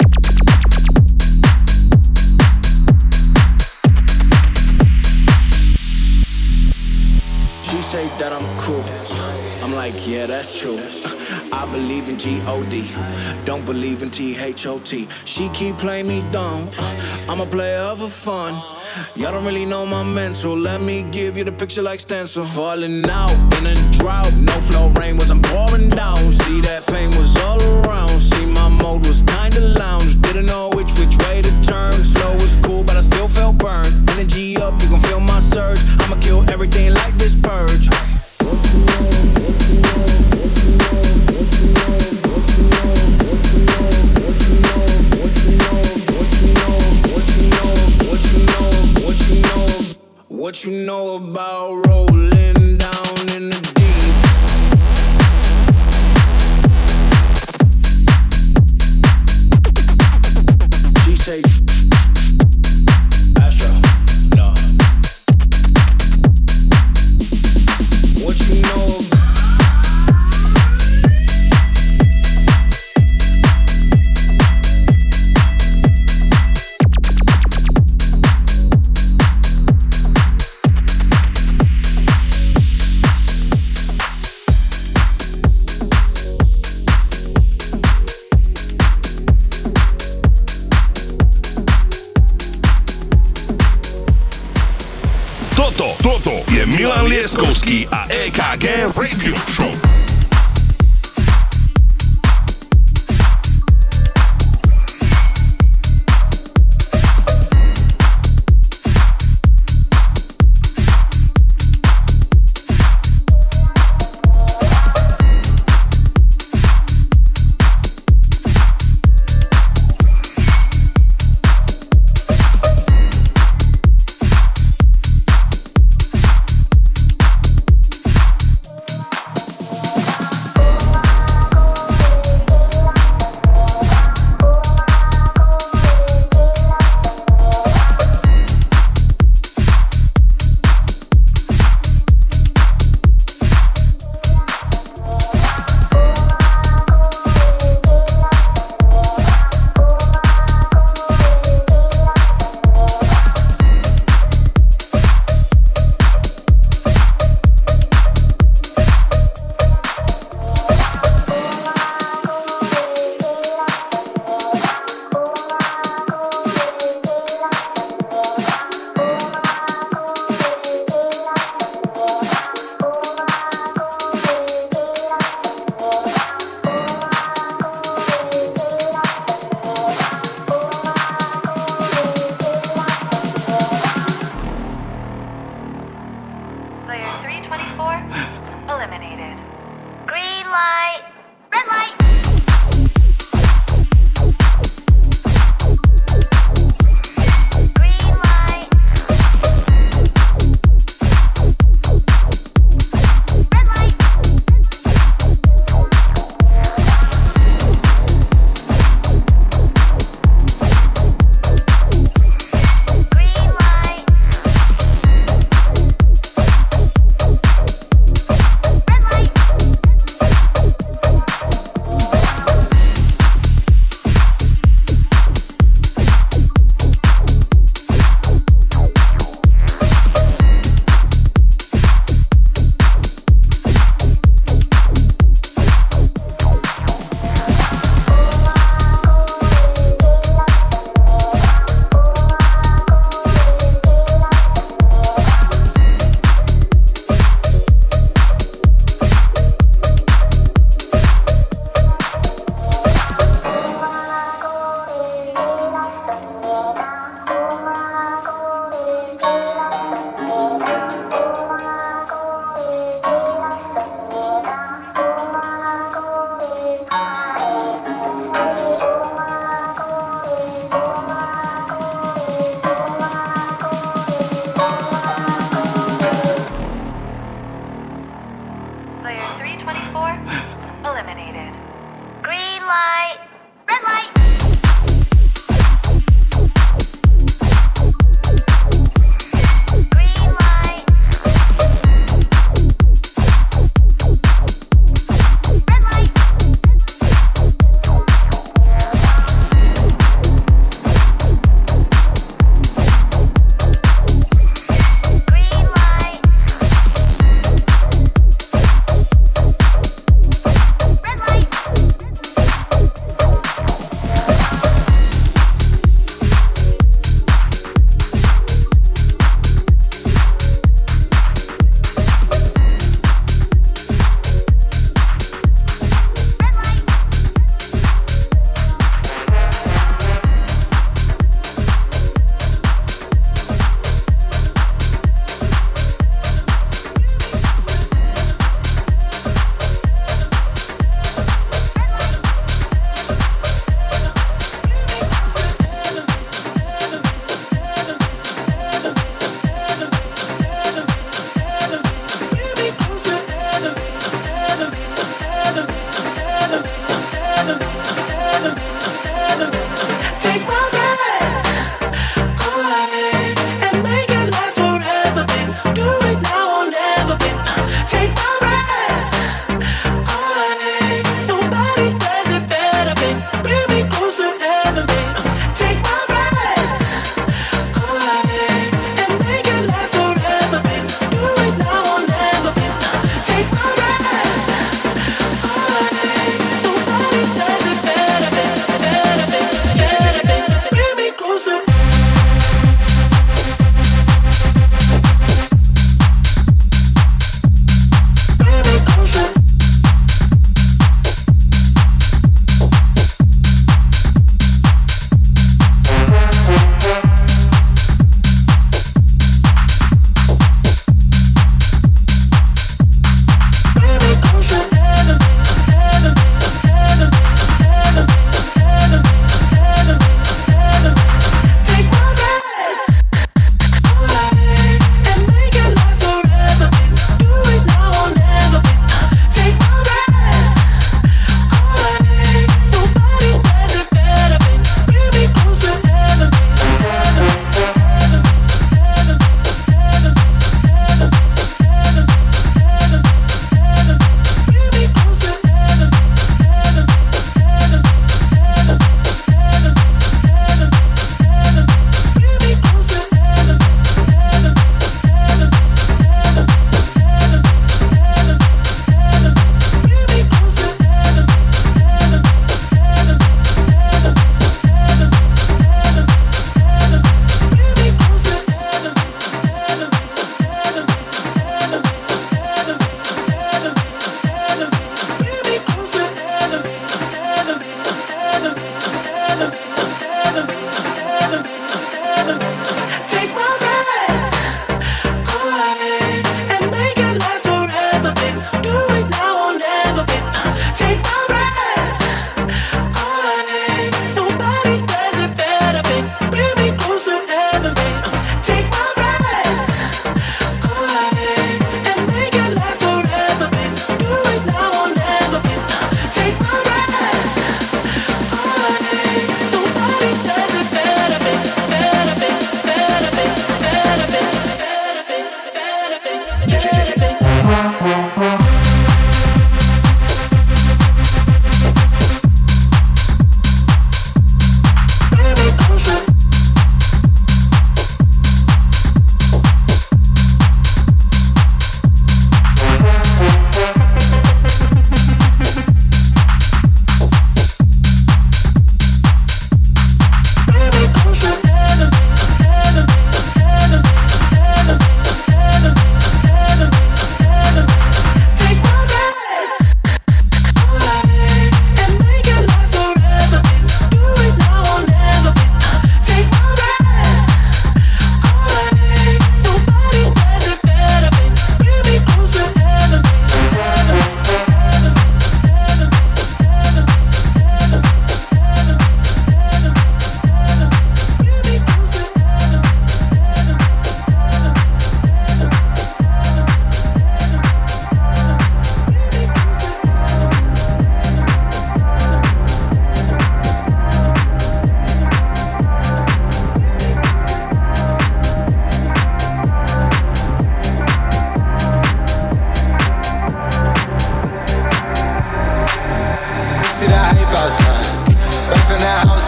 She say that I'm cool. I'm like, yeah, that's true. I believe in G O D, don't believe in T H O T. She keep playing me dumb, I'm a player for fun. Y'all don't really know my mental, let me give you the picture like stencil. Falling out in a drought, no flow rain was I'm pouring down. See that pain was all around, see my mode was kinda lounge. Didn't know which which way to turn, flow was cool but I still felt burned. Energy up, you gon' feel my surge, I'ma kill everything like this purge. What you know about rolling down in the deep? She say Astro, no. What you know about Toto je Milan Lieskovský a é ká gé Radio Show.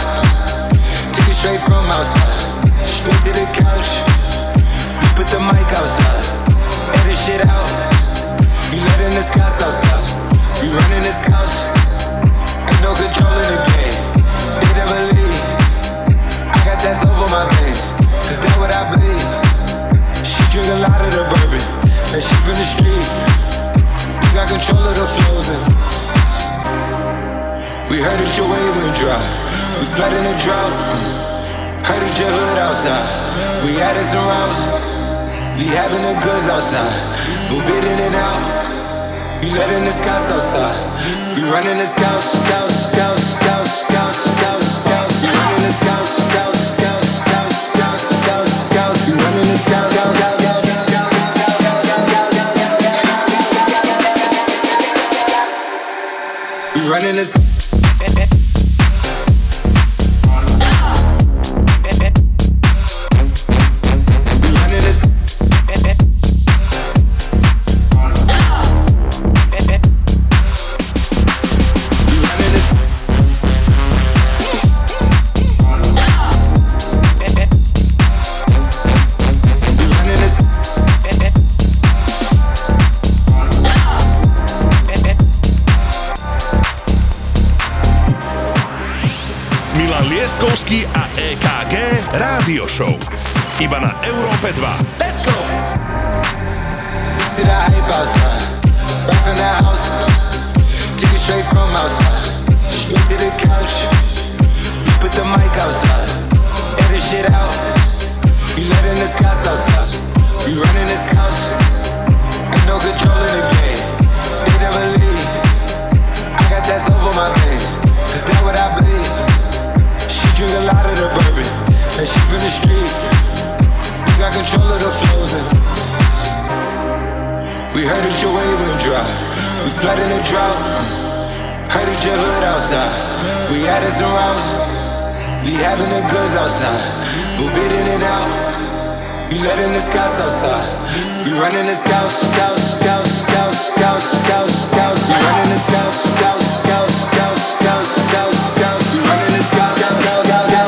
Take it straight from outside, straight to the couch. We put the mic outside, edit shit out. We letting the scouts outside, we running the scouts. Ain't no control in the game, they never leave. I got that's over my veins, cause that's what I bleed. She drink a lot of the bourbon, and she from the street. We got control of the flows and we heard that your wave went dry, we flood in the drought. Heard that your hood outside, we added some routes. We having the goods outside, move it in and out. We letting the scouts outside, we running the scouts, scouts, scouts, scouts, scouts, scouts, scouts. We running the scouts, scouts, scouts, scouts, scouts, scouts, scouts. We running the scouts, scouts, scouts, scouts, scouts. We running the scouts. Lieskovský a é ká gé Rádio Show. Iba na Európe dva. Let's go! See that hype outside, right from the house. Take it straight from outside, straight to the couch. We put the mic outside, edit shit out. We letting the scouts outside, we running the scouts. Ain't no control in the game, they never leave. I got that's over my veins, cause that's what I bleed. Drink a lot of the bourbon, and she from the street. We got control of the flows and we heard that your wave went dry, we flood in the drought. Heard that your hood outside, we added some routes. We having the goods outside, move it in and out. We letting the scouts outside, we running the scouts, scouts, scouts, scouts, scouts, scouts, scouts. We running the scouts, scouts, scouts, scouts, scouts, scouts, scouts. We running the scouts, scouts, scouts.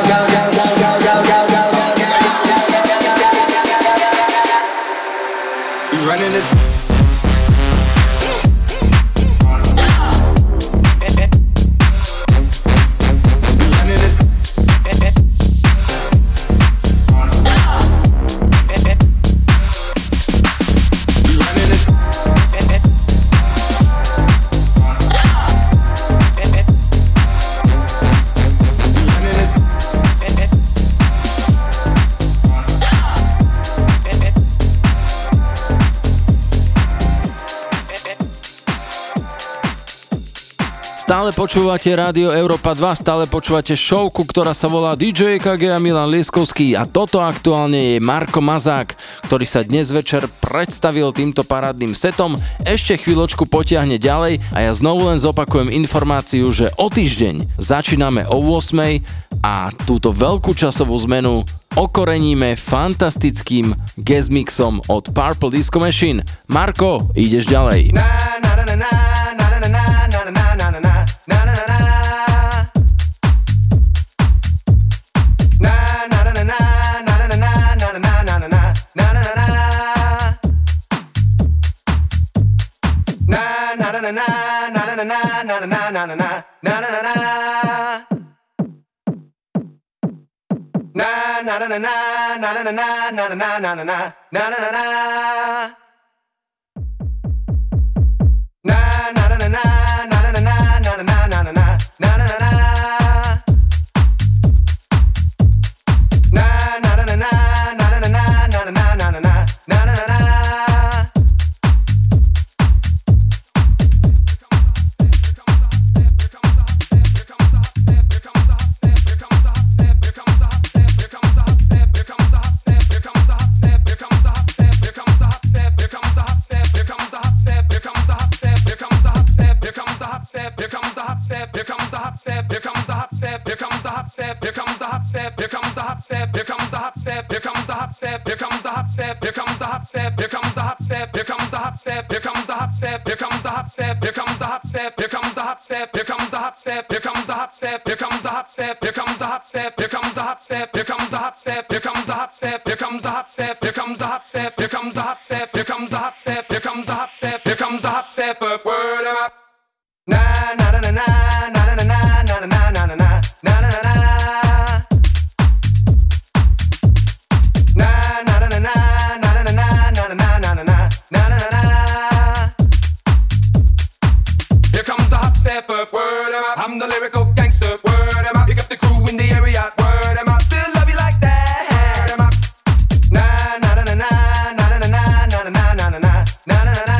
Running this. Stále počúvate Rádio Európa dva, stále počúvate showku, ktorá sa volá dý džej é ká gé a Milan Lieskovský a toto aktuálne je Marko Mazák, ktorý sa dnes večer predstavil týmto parádnym setom. Ešte chvíľočku potiahne ďalej a ja znovu len zopakujem informáciu, že o týždeň začíname o ôsmej a túto veľkú časovú zmenu okoreníme fantastickým guest mixom od Purple Disco Machine. Marko, ideš ďalej. Na, na, na, na, na, na, na, na, na, na, na, na, na. Na na na na na na na na na na na na na na na na Here comes the hot step, here comes the hot step, here comes the hot step, here comes the hot step, here comes the hot step, here comes the hot step, here comes the hot step, here comes the hot step, here comes the hot step, here comes the hot step, here comes the hot step, here comes the hot step, here comes the hot step, up, word em up. Na na na na na na na na na na na na na na na na na. I'm the lyrical gangster, word em up. Pick up the crew in the area, word em up. Still love you like that, word em up. Na na na na na na na na na na na na na na na na.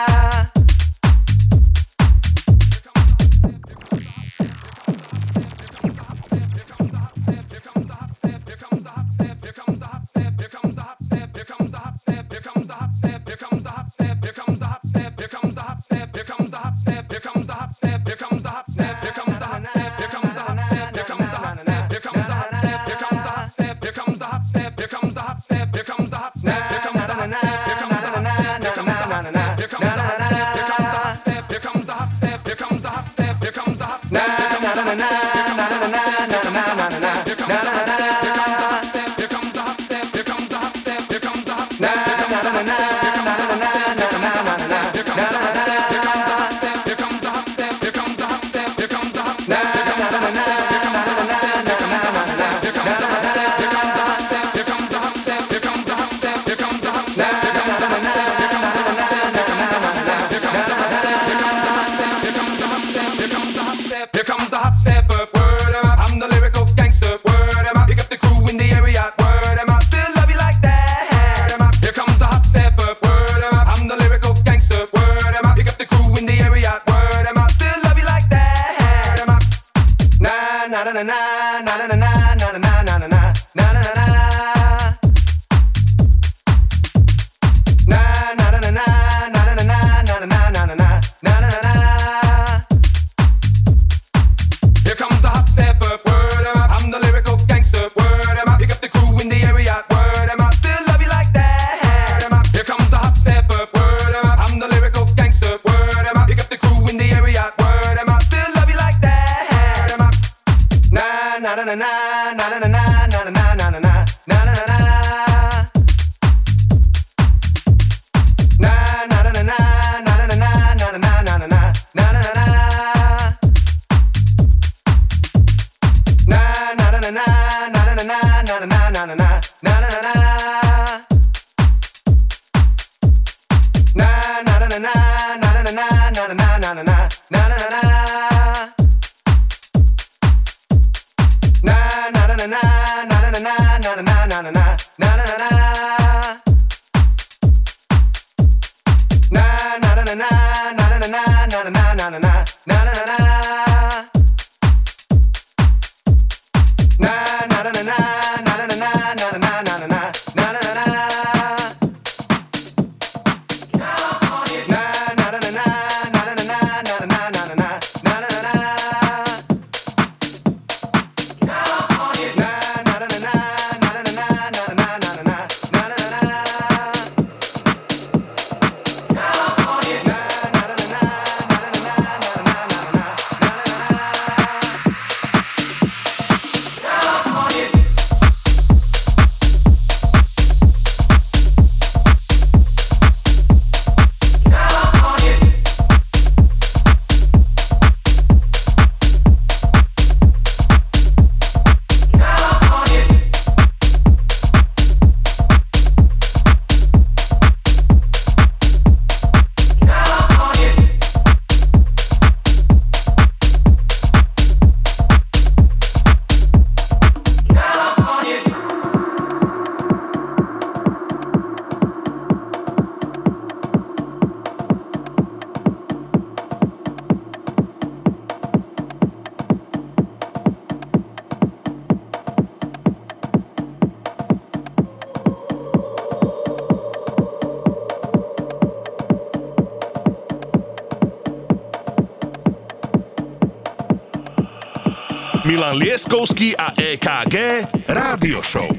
Milan Lieskovský a é ká gé Rádio Show.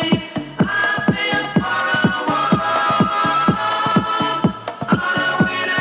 All I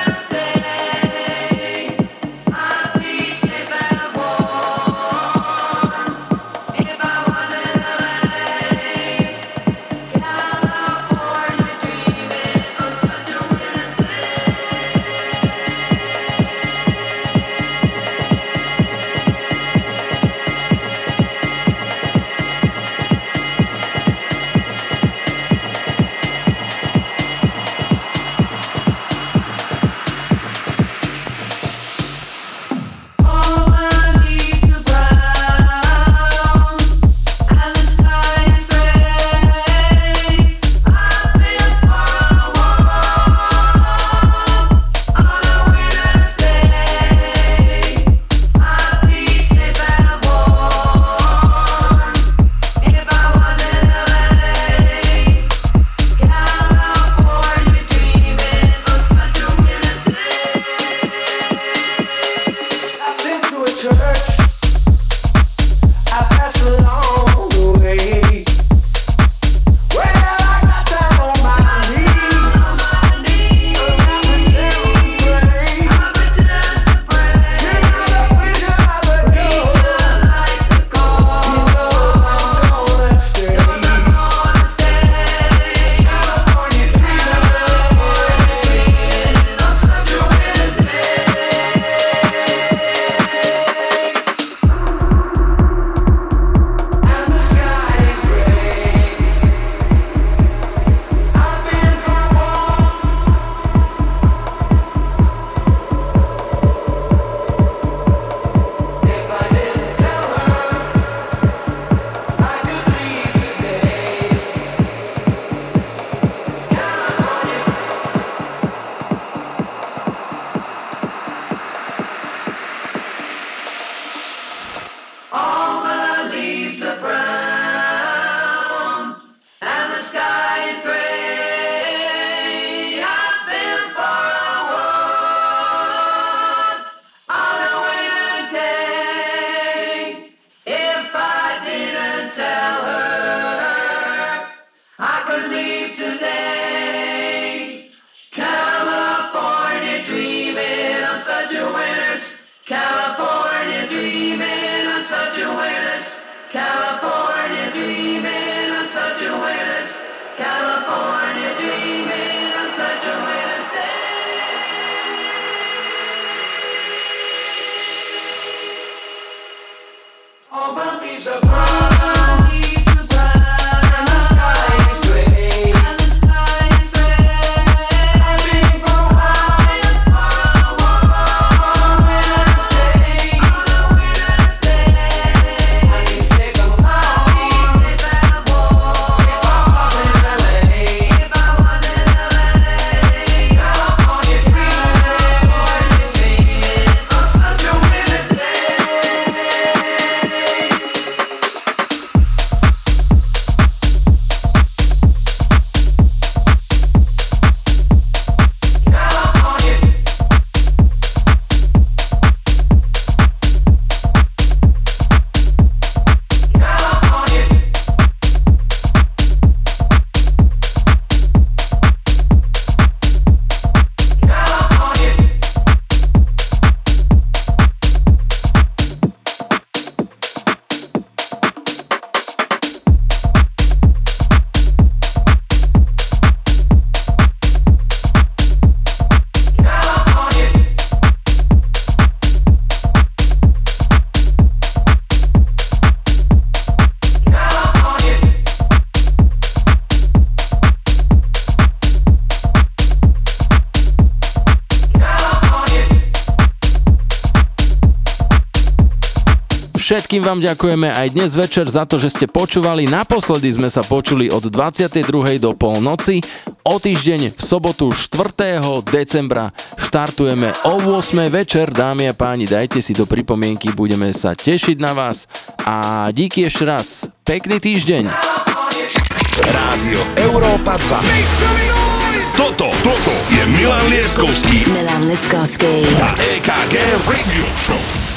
Všetkým vám ďakujeme aj dnes večer za to, že ste počúvali. Naposledy sme sa počuli od dvadsiatej druhej do polnoci. O týždeň v sobotu štvrtého decembra štartujeme o ôsmej večer. Dámy a páni, dajte si do pripomienky, budeme sa tešiť na vás. A díky ešte raz. Pekný týždeň. Rádio Európa dva. Toto, toto je Milan Lieskovský Milan Lieskovský a é ká gé Radio Show.